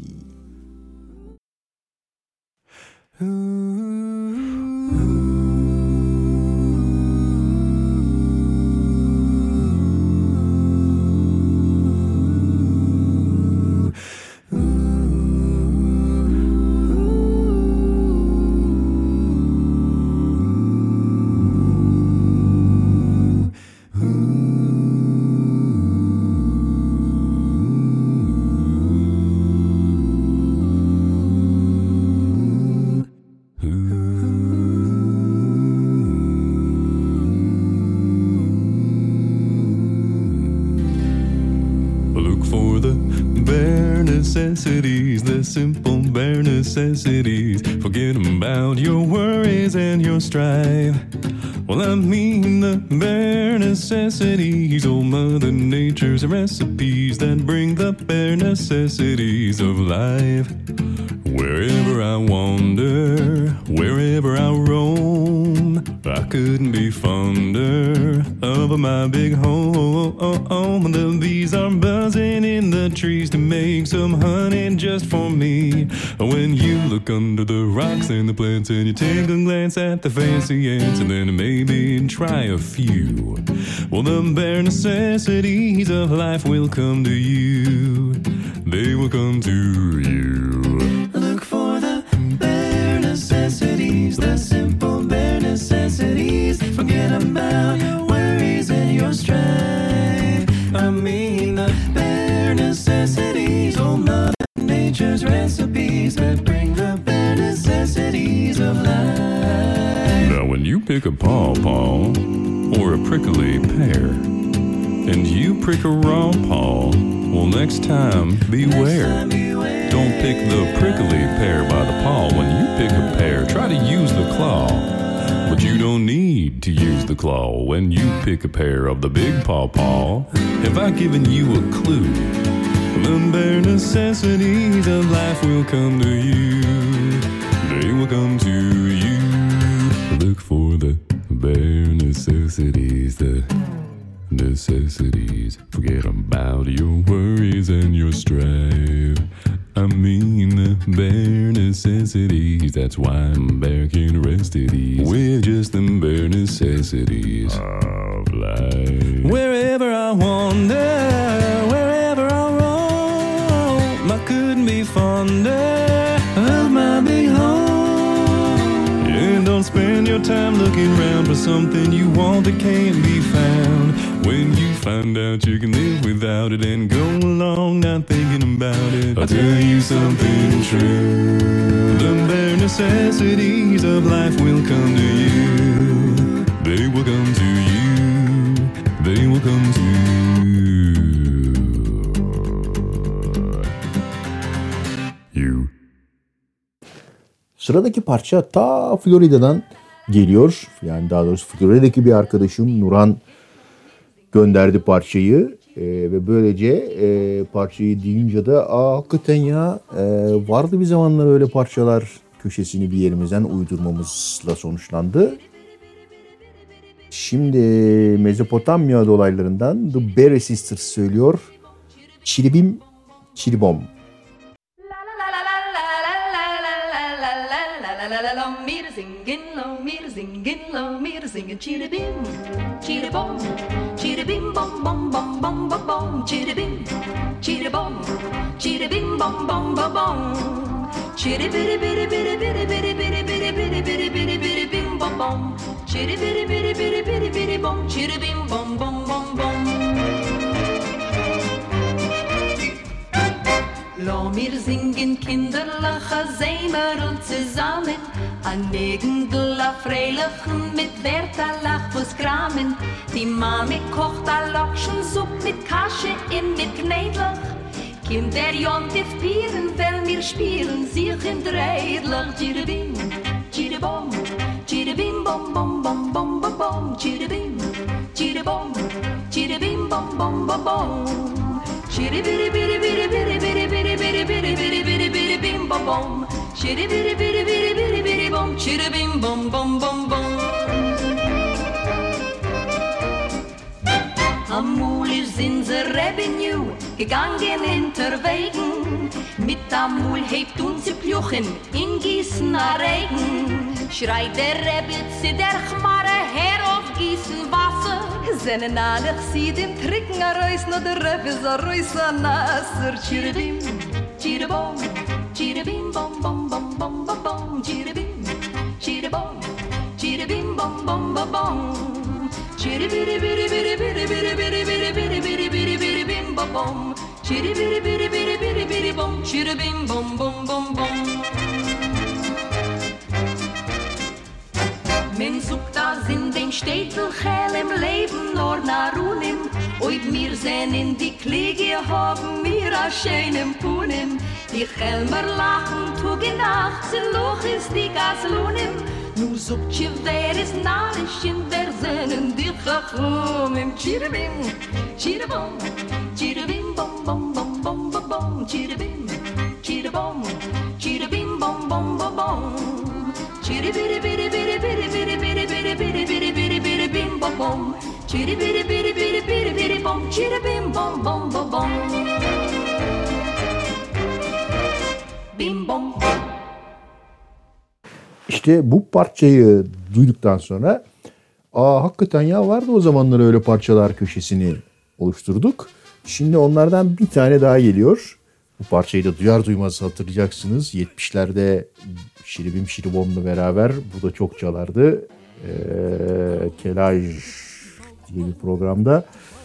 Necessities, the simple bare necessities. Forget about your worries and your strife. Well, I mean the bare necessities, old Mother Nature's recipes that bring the bare necessities of life. Wherever I wander, wherever I roam, I couldn't be fonder of my big home. The bees are buzzing in the trees to make some honey just for me. When you look under the rocks and the plants and you take a glance at the fancy ants and then maybe try a few, well, the bare necessities of life will come to you. They will come to you. Look for the bare necessities, the simple bare necessities. Forget about your worries and your strife. I mean the bare necessities, old Mother Nature's recipes that bring the bare necessities of life. Now when you pick a pawpaw or a prickly pear and you prick a raw paw, well, next time beware. Don't pick the prickly pear by the paw. When you pick a pear, try to use the claw. But you don't need to use the claw when you pick a pear of the big pawpaw. Have I given you a clue? The bare necessities of life will come to you. They will come to you. Look for the bare necessities, the necessities. Forget about your worries and your strife. I mean the bare necessities. That's why I'm back in rest at ease with just the bare necessities of life. Wherever I wander, wherever I roam, I couldn't be fonder of my big home. Yeah, don't spend your time looking around for something you want that can't be found. When you find out you can live without it and go along not thinking about it, I'll tell you something true. The bare necessities of life will come to you. They will come to you. They will come to you. Sıradaki parça ta Florida'dan geliyor. Yani daha doğrusu Florida'daki bir arkadaşım Nurhan gönderdi parçayı. Ve böylece parçayı duyunca da hakikaten ya vardı bir zamanlar öyle parçalar köşesini bir yerimizden uydurmamızla sonuçlandı. Şimdi Mezopotamya dolaylarından The Berry Sisters söylüyor. Çiribim çiribom. Meter singing, singen chiribim, chiribom, chiribim bom bom bom bom bom bom, chiribim, chiribom, chiribim bom bom bom bom, chiribiri biri biri biri biri biri biri biri biri biri biri bim bom bom, chiribiri biri biri biri biri bom, chiribim bom bom bom bom. Lass mir singen kinderliche Sämerl zusammen, an Negendl a Freilichen mit Bertha Lachfuss kramen. Die Mami kocht a Lokschensupp mit Kasche in mit Knädlach. Kinder jontif pieren, weil wir spielen sich in Dreidlach. Chiribim, chiribom, chiribim bom bom bom bom bom bom, chiribim, chiribom, chiribim bom bom bom bom. Chiribiri biri biri biri biri biri biri biri biri biri biri bim bom bom. Chiribiri biri biri biri biri bom. Chiribim bom bom bom bom. Amul ist in the Revenue gegangen hinterwegen. Mit Amul hebt uns die Pluchen in Gießen a Regen. Schreit der Rebbe zu der Chmare her auf Gießen Wasser. Seinen alle Chsidim trinken a Reus, no der Rebbe ist a Reus a Nasser. Chiribim, chiribom, chiribim bom bom bom bom bom bom. Chiribim, chiribom, chiribim bom bom bom bom. Chiribiri biri biri biri biri biri biri biri biri biri biri bim bom bom. Chiribiri biri biri biri biri bom. Chiribim bom bom bom bom. Men sucht das in den Städten hell im Leben nur nach Runim. Oib mir sehn in die Kliege haben wir a schönem Punim. Die Chelmer lachen, tuge Nacht, sie loch ist die Gaslunim. Nu sucht je wer is narisch in der Sennen die Chachum im Chiribim, Chiribom, Chiribim bom bom bom bom bom bom, Chiribim, Chiribom, Chiribim bom bom bom bom. Chiribiri biri biri biri biri biri biri biri biri biri biri bim bom bom. Chiribiri biri biri biri biri bom. Chiribim bom bom bom bom. Bim bom. İşte bu parçayı duyduktan sonra hakikaten ya vardı o zamanlar öyle parçalar köşesini oluşturduk. Şimdi onlardan bir tane daha geliyor. Bu parçayı da duyar duymaz hatırlayacaksınız. 70'lerde Şiribim Şiribom'la beraber bu da çok çalardı. Kelaj diye bir programda.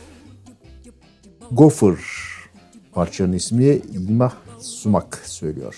Gopher parçanın ismi Yılmaz Sumak söylüyor.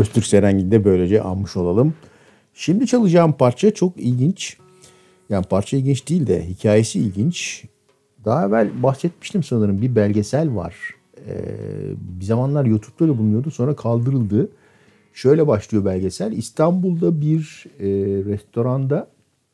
Öztürk Serengil'i de böylece almış olalım. Şimdi çalacağım parça çok ilginç. Yani parça ilginç değil de hikayesi ilginç. Daha evvel bahsetmiştim sanırım, bir belgesel var. Bir zamanlar YouTube'da da bulunuyordu, sonra kaldırıldı. Şöyle başlıyor belgesel. İstanbul'da bir restoranda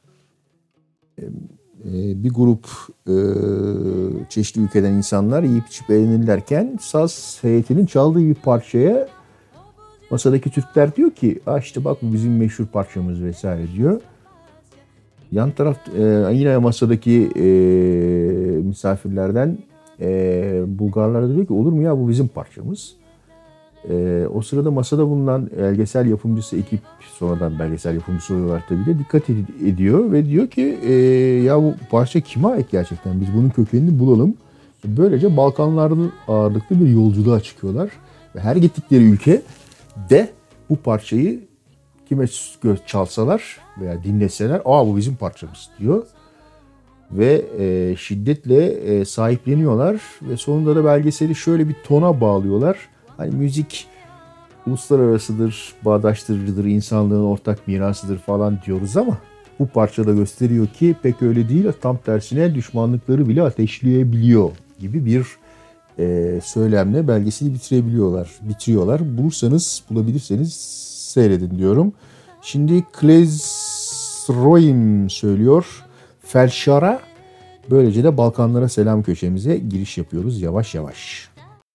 bir grup çeşitli ülkeden insanlar yiyip içip eğlenirlerken saz heyetinin çaldığı bir parçaya masadaki Türkler diyor ki işte bak bu bizim meşhur parçamız vesaire diyor. Yan taraf yine masadaki misafirlerden Bulgarlar da diyor ki olur mu ya bu bizim parçamız. O sırada masada bulunan belgesel yapımcısı ekip, sonradan belgesel yapımcısı oluyorlar tabii de, dikkat ediyor ve diyor ki ya bu parça kime ait gerçekten, biz bunun kökenini bulalım. Böylece Balkanlarda ağırlıklı bir yolculuğa çıkıyorlar ve her gittikleri ülke de bu parçayı kime çalsalar veya dinleseler bu bizim parçamız diyor. Ve şiddetle sahipleniyorlar ve sonunda da belgeseli şöyle bir tona bağlıyorlar. Hani müzik uluslararasıdır, bağdaştırıcıdır, insanlığın ortak mirasıdır falan diyoruz ama bu parçada gösteriyor ki pek öyle değil. Tam tersine düşmanlıkları bile ateşleyebiliyor gibi bir söylemle belgeseli bitiriyorlar. Bulabilirseniz seyredin diyorum. Şimdi Klezroim söylüyor Felşar'a. Böylece de Balkanlara selam köşemize giriş yapıyoruz yavaş yavaş.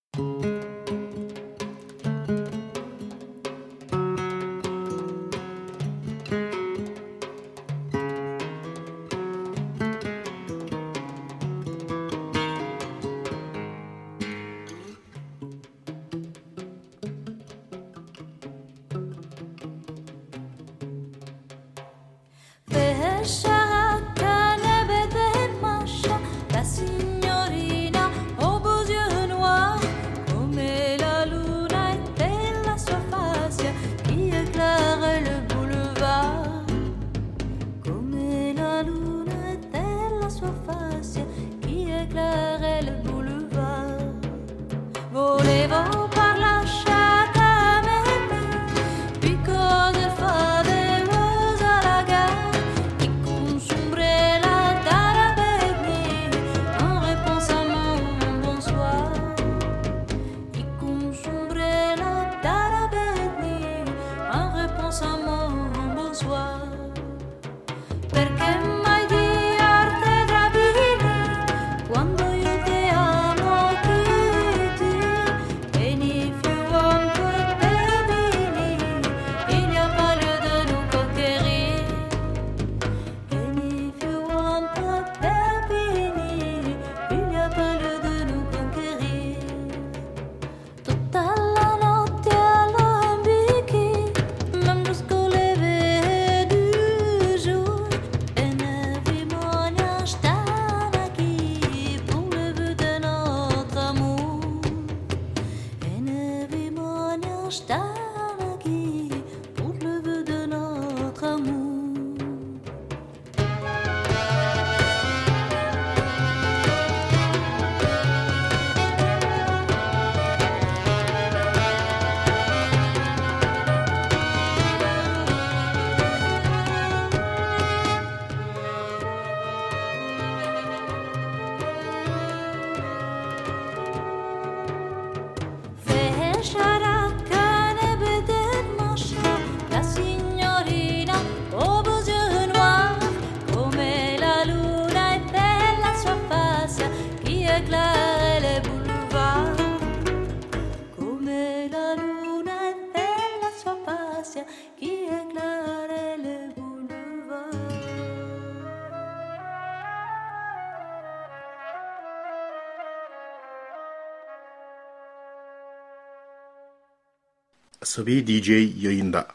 Asabi DJ yayında.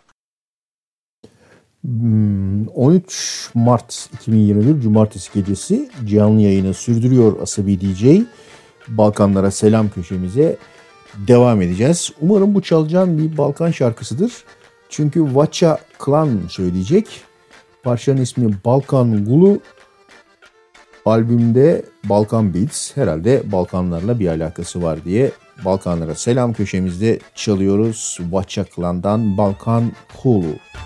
13 Mart 2021 Cumartesi gecesi canlı yayını sürdürüyor Asabi DJ. Balkanlara selam köşemize devam edeceğiz. Umarım bu çalacağım bir Balkan şarkısıdır. Çünkü Vacha Klan söyleyecek. Parçanın ismi Balkan Gulu. albümde Balkan Beats, herhalde Balkanlarla bir alakası var diye Balkanlara selam köşemizde çalıyoruz. Vaçaklan'dan Balkan Hulu.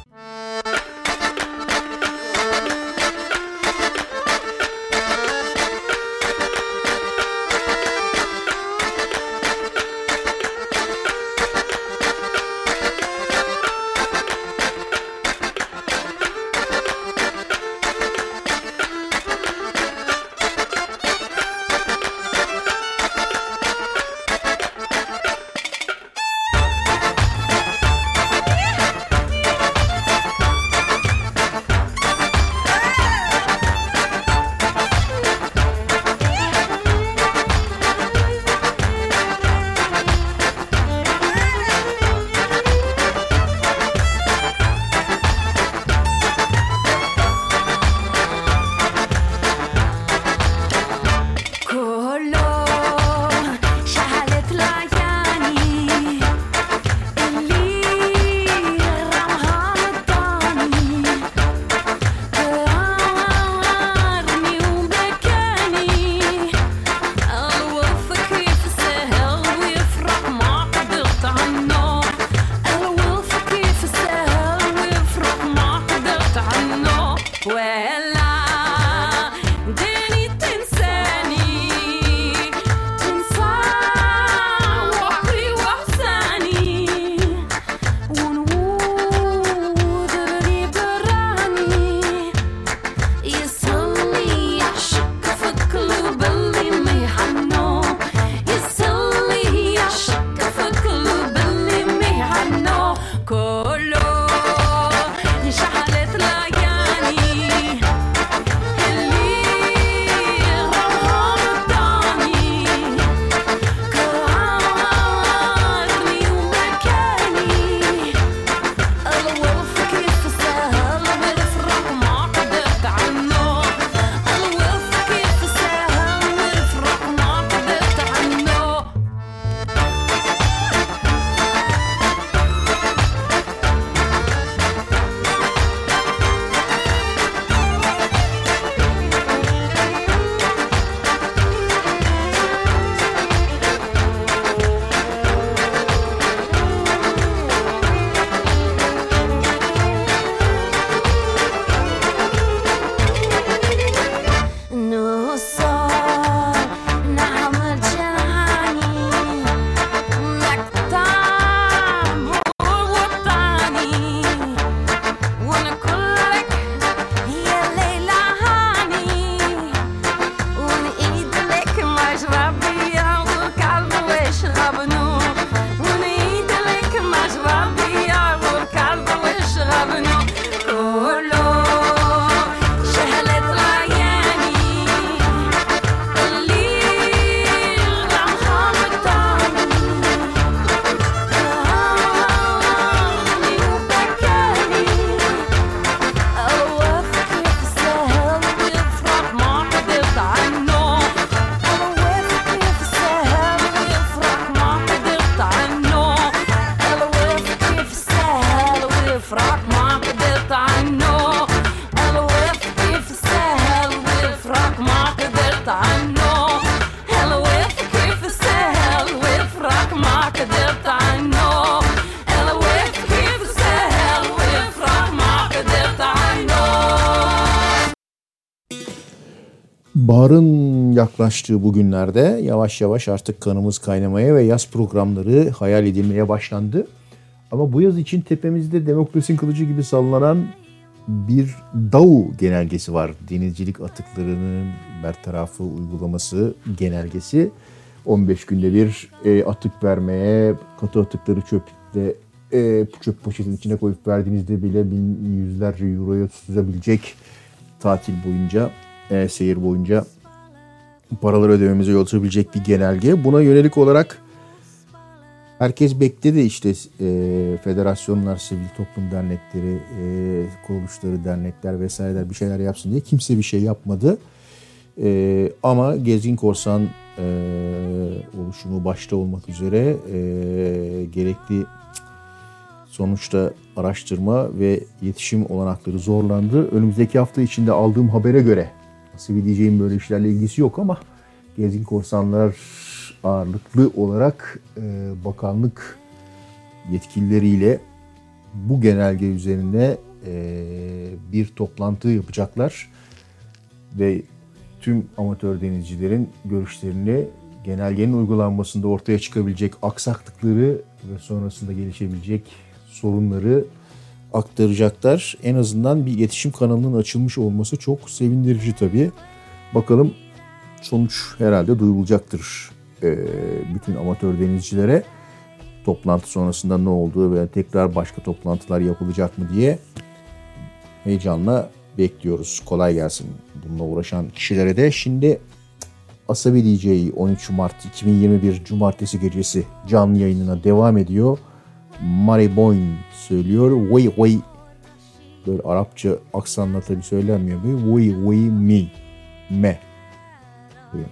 Baharın yaklaştığı bu günlerde yavaş yavaş artık kanımız kaynamaya ve yaz programları hayal edilmeye başlandı. Ama bu yaz için tepemizde demokrasinin kılıcı gibi sallanan bir DAU genelgesi var. Denizcilik atıklarının bertarafı uygulaması genelgesi. 15 günde bir atık vermeye, katı atıkları çöp poşetin içine koyup verdiğinizde bile yüzlerce euroya tutabilecek tatil boyunca, seyir boyunca paraları ödememize yol açabilecek bir genelge. Buna yönelik olarak herkes bekledi, işte federasyonlar, sivil toplum dernekleri, kuruluşları, dernekler vesaireler bir şeyler yapsın diye. Kimse bir şey yapmadı. Ama Gezgin Korsan oluşumu başta olmak üzere gerekli sonuçta araştırma ve iletişim olanakları zorlandı. Önümüzdeki hafta içinde aldığım habere göre Asabi DJ'in böyle işlerle ilgisi yok ama Gezgin Korsanlar ağırlıklı olarak bakanlık yetkilileriyle bu genelge üzerine bir toplantı yapacaklar ve tüm amatör denizcilerin görüşlerini genelgenin uygulanmasında ortaya çıkabilecek aksaklıkları ve sonrasında gelişebilecek sorunları aktaracaklar. En azından bir iletişim kanalının açılmış olması çok sevindirici tabii. Bakalım sonuç herhalde duyurulacaktır bütün amatör denizcilere. Toplantı sonrasında ne olduğu ve tekrar başka toplantılar yapılacak mı diye heyecanla bekliyoruz. Kolay gelsin bununla uğraşan kişilere de. Şimdi Asabi DJ 13 Mart 2021 Cumartesi gecesi canlı yayınına devam ediyor. Mary Boyne söylüyor. Way way. Böyle Arapça aksanla tabii söylenmiyor. Way way me. Me. Buyurun.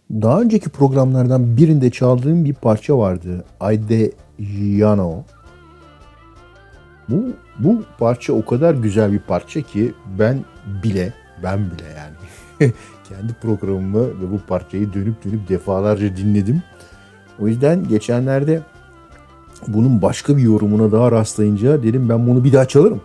Daha önceki programlardan birinde çaldığım bir parça vardı. Ayde Yano. Bu parça o kadar güzel bir parça ki ben bile yani kendi programımı ve bu parçayı dönüp defalarca dinledim. O yüzden geçenlerde bunun başka bir yorumuna daha rastlayınca dedim ben bunu bir daha çalarım.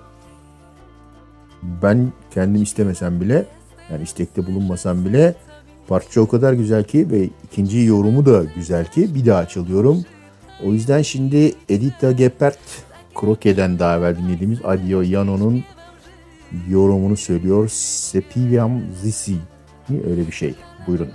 Ben kendim istemesem bile, yani istekte bulunmasam bile parça o kadar güzel ki ve ikinci yorumu da güzel ki bir daha çalıyorum. O yüzden şimdi Edita Gephardt, Kroke'den daha evvel dinlediğimiz Adio Yano'nun yorumunu söylüyor. Sepiam Zisi. Öyle bir şey. Buyurun.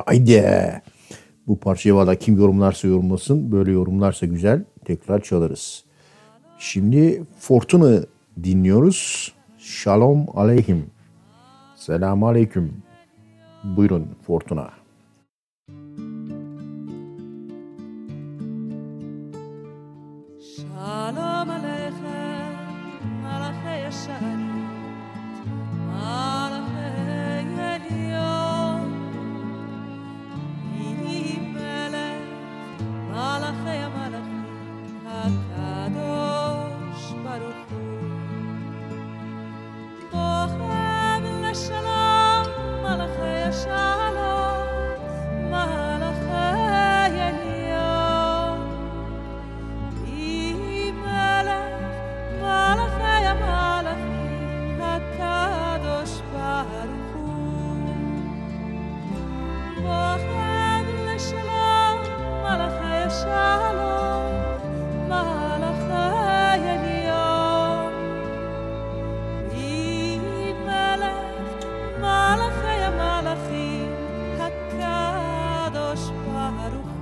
Haydi. Bu parçayı valla kim yorumlarsa yorumlasın. Böyle yorumlarsa güzel. Tekrar çalarız. Şimdi Fortuna dinliyoruz. Shalom aleyhim. Selamun aleyküm. Buyurun Fortuna. Shalom aleichem, malachei yesharit, malachei elyon, melech, malachei malachim, hakadosh baruch hu. Bochem leshalom, malachei yeshalom, malachei elyon. Malachei המלאכים הקדוש ברוך הוא בוחן לשלום מלאכי שלום מלאכי עליון מלך מלאכי המלאכים הקדוש ברוך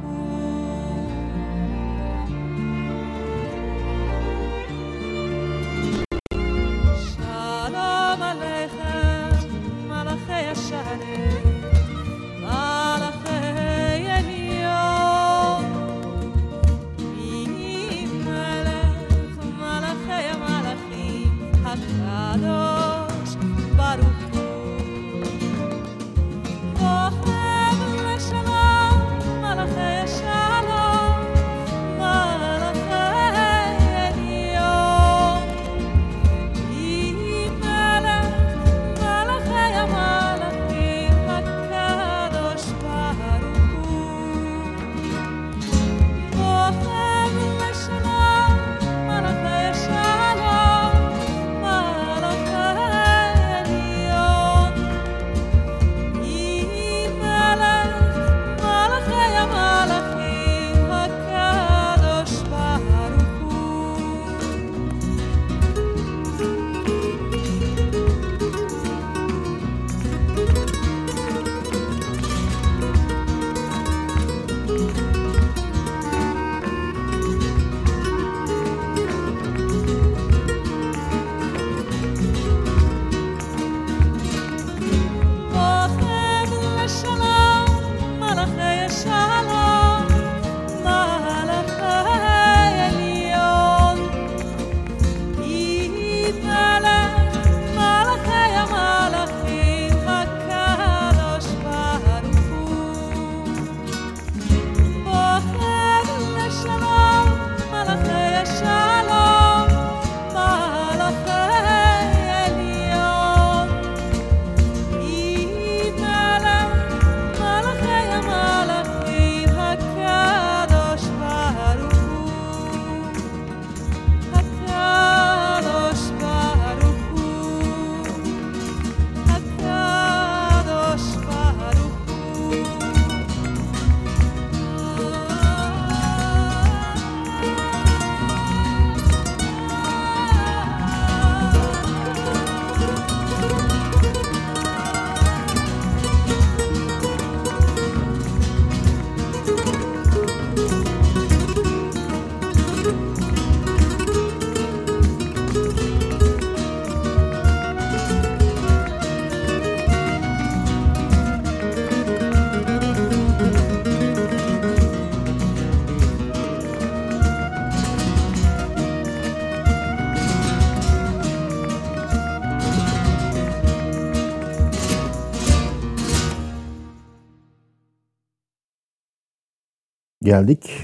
Geldik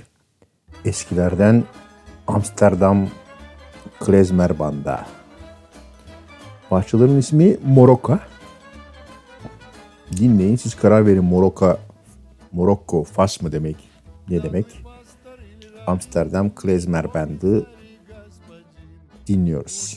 eskilerden Amsterdam Klezmer Band'a. Parçaların ismi Moroka. Dinleyin, siz karar verin. Morokko, Fas mı demek? Ne demek? Amsterdam Klezmer Band'ı dinliyoruz.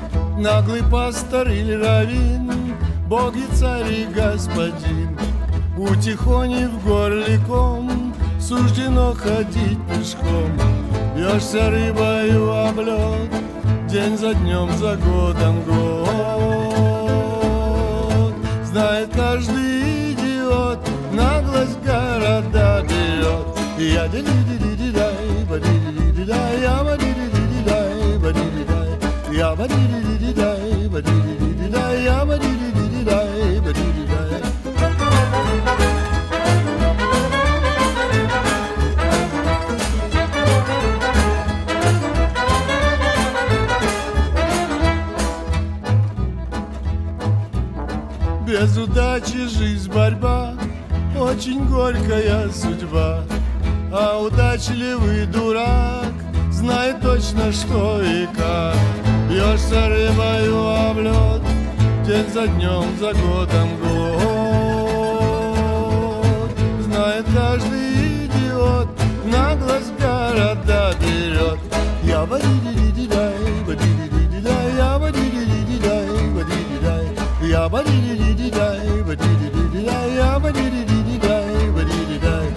Наглый пастор или раввин, Бог и царь и господин, У тихони в горле ком, суждено ходить пешком. Бьешься рыбою об лед, день за днем, за годом год. Знает каждый идиот, наглость города берет. Я ди-ди-ди-ди-дай, ба-ди-ди-ди-дай, я ба-ди-ди-ди-дай, ба-ди-ди-дай, я ба-ди-ди-ди-дай, ба-ди-ди-ди-дай, я ба-ди-ди-ди-дай, ба-ди-ди-дай. Без удачи жизнь борьба, очень горькая судьба. А удачливый дурак знает точно что и как. Бьешься рыбою об лед, день за днем, за годом год. Знает каждый идиот, наглость города берет. Я ба-ди-ди-ди-дай, ба-ди-ди-ди-дай, я ба-ди-ди-ди-дай, ба-ди-ди-дай, я ба-ди-ди-ди-дай, ба-ди-ди-ди-дай, я ба-ди-ди-ди-дай, ба-ди-ди-дай.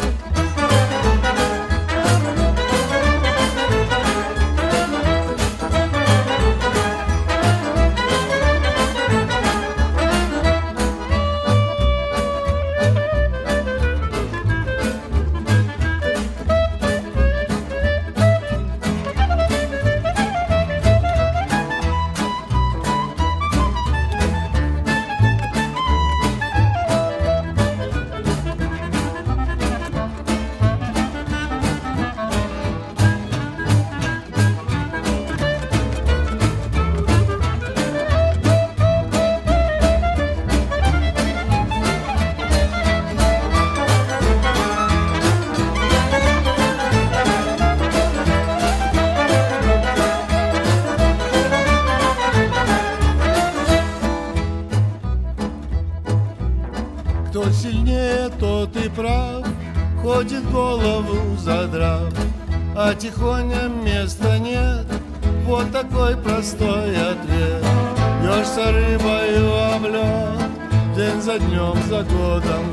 Кто сильнее, тот и прав, ходит голову задрав, а тихоня места нет, вот такой простой ответ. Бьешься рыбою об лед, день за днем, за годом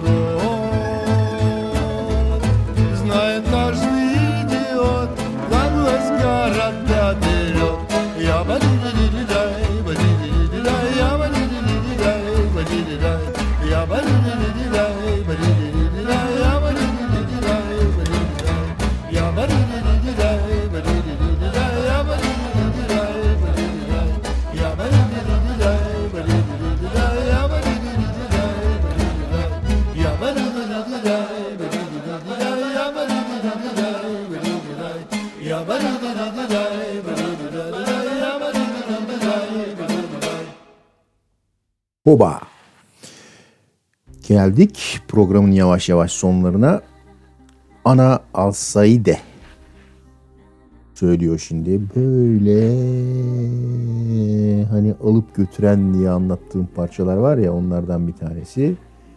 год. Знает каждый идиот, наглость города берет. Я ба-ди-ди-ди-дай, ба-ди-ди-ди-дай, я ба-ди-ди-ди-дай, ба-ди-ди-дай, я ба-ди-ди-ди-дай, ба-ди-ди-ди-дай, я ба-ди-ди-ди-дай, ба-ди-ди-дай, я ба-ди-ди-ди-дай, ба-ди-ди-ди-дай, я ба-ди-ди-ди-дай, ба-ди-ди-дай, я ба-ди-ди-ди-дай, ба-ди-ди-ди-дай, я ба-ди-ди-ди-дай, ба-ди-ди-дай, я ба-ди-ди-ди-дай, ба-ди-ди-ди-дай, я ба-ди-ди-ди-дай, ба-ди-ди-дай, я ба-ди-ди-ди-дай, ба-ди-ди-дай, я ба-ди-ди-дай, ба-ди-ди-дай. Oba! Geldik programın yavaş yavaş sonlarına. Ana Alsaide söylüyor şimdi. Böyle hani alıp götüren diye anlattığım parçalar var ya, onlardan bir tanesi.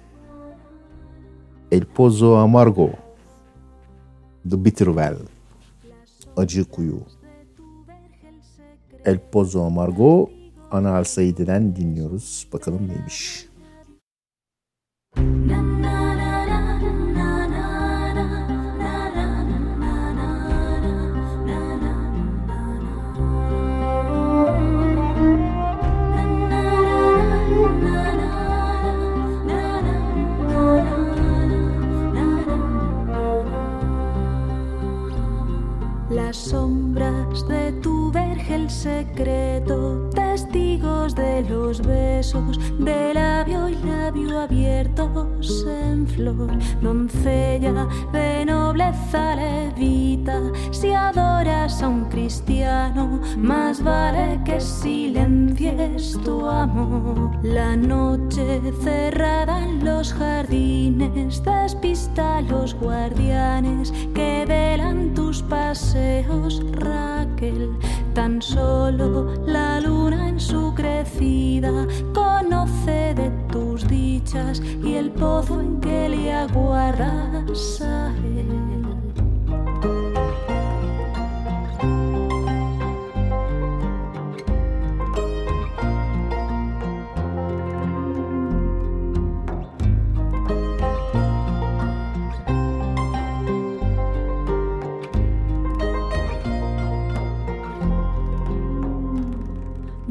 El Pozo Amargo, The Bitter Well, Acı Kuyu. El Pozo Amargo, Ana Alsaide'den dinliyoruz. Bakalım neymiş. Las sombras de tu vergel secreto, testigos de los besos de labio y labio abiertos en flor. Doncella de nobleza levita, si adoras a un cristiano, más vale que silencies tu amor. La noche cerrada en los jardines despista a los guardianes que velan tus paseos, Raquel. Tan solo la luna en su crecida conoce de tus dichas y el pozo en que le aguardas a él.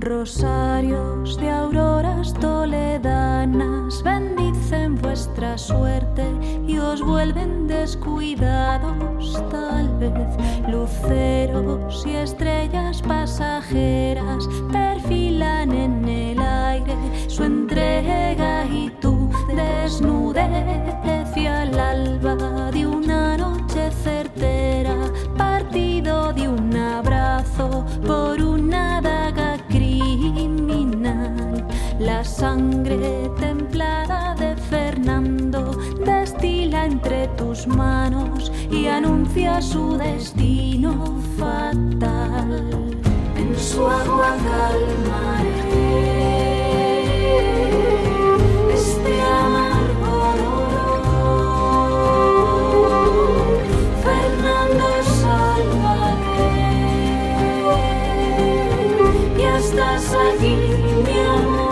Rosarios de auroras toledanas bendicen vuestra suerte y os vuelven descuidados. Tal vez luceros y estrellas pasajeras perfilan en el aire su entrega y tu desnudez y al alba de una noche certera, partido de un abrazo por una daga criminal. La sangre templada de Fernando destila entre tus manos y anuncia su destino fatal. En su agua calmaré este amargo dolor. Fernando, sálvate, ya estás aquí, mi amor.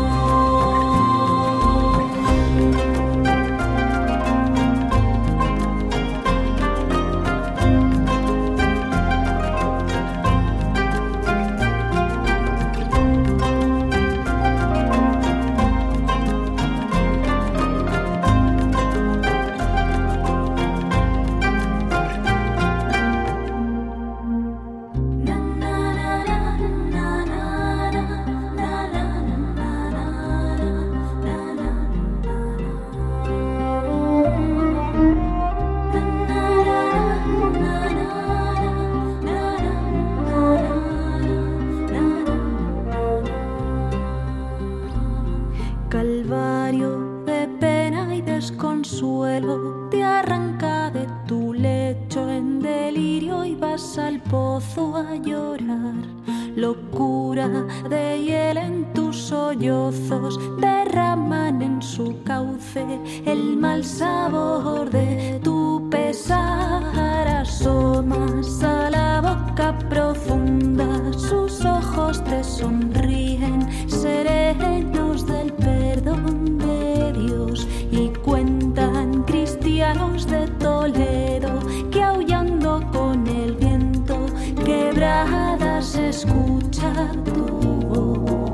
Calvario de pena y desconsuelo, te arranca de tu lecho en delirio y vas al pozo a llorar. Locura de hiel en tus sollozos derraman en su cauce el mal sabor de tu pesar. Asomas a la boca profunda, sus ojos te sonríen serenos del perdón de Dios y cuentan cristianos de Toledo que aullando con el viento quebradas escucha tu voz.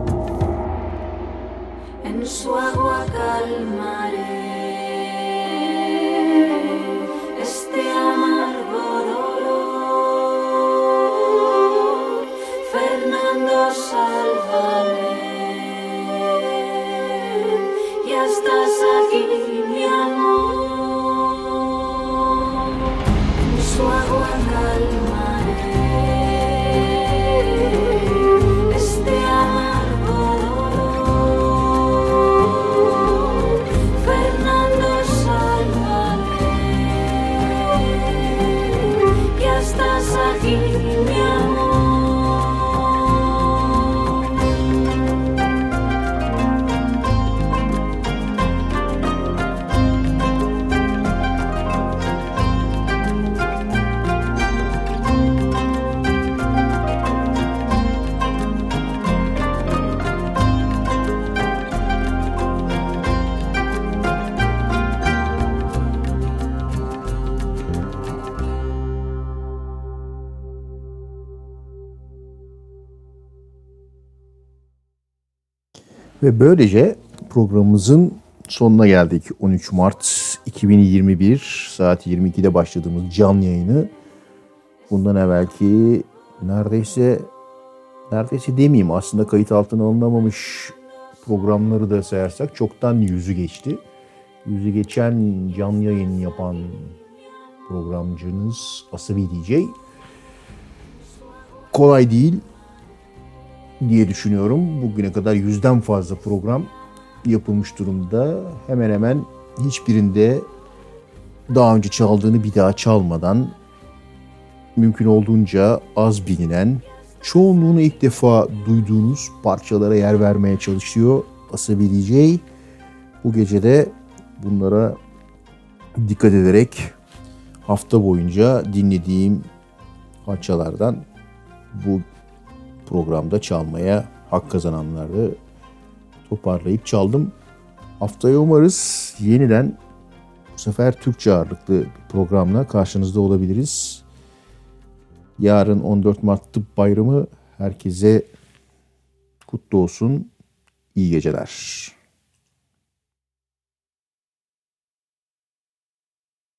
En su agua calmaré este amargo dolor. Fernando, sálvame, ya estás aquí, mi amor. En su agua calmaré este amargo dolor. Fernando, sálvame, ya estás aquí, mi amor. Ve böylece programımızın sonuna geldik. 13 Mart 2021 saat 22'de başladığımız canlı yayını bundan evvelki neredeyse demeyeyim, aslında kayıt altına alınamamış programları da sayarsak çoktan yüzü geçti. Yüzü geçen canlı yayın yapan programcınız Asabi DJ kolay değil diye düşünüyorum. Bugüne kadar 100'den fazla program yapılmış durumda. Hemen hemen hiçbirinde daha önce çaldığını bir daha çalmadan mümkün olduğunca az bilinen, çoğunluğunu ilk defa duyduğunuz parçalara yer vermeye çalışıyor Asabi DJ. Bu gece de bunlara dikkat ederek hafta boyunca dinlediğim parçalardan bu programda çalmaya hak kazananları toparlayıp çaldım. Haftaya umarız yeniden bu sefer Türkçe ağırlıklı bir programla karşınızda olabiliriz. Yarın 14 Mart Tıp Bayramı, herkese kutlu olsun. İyi geceler.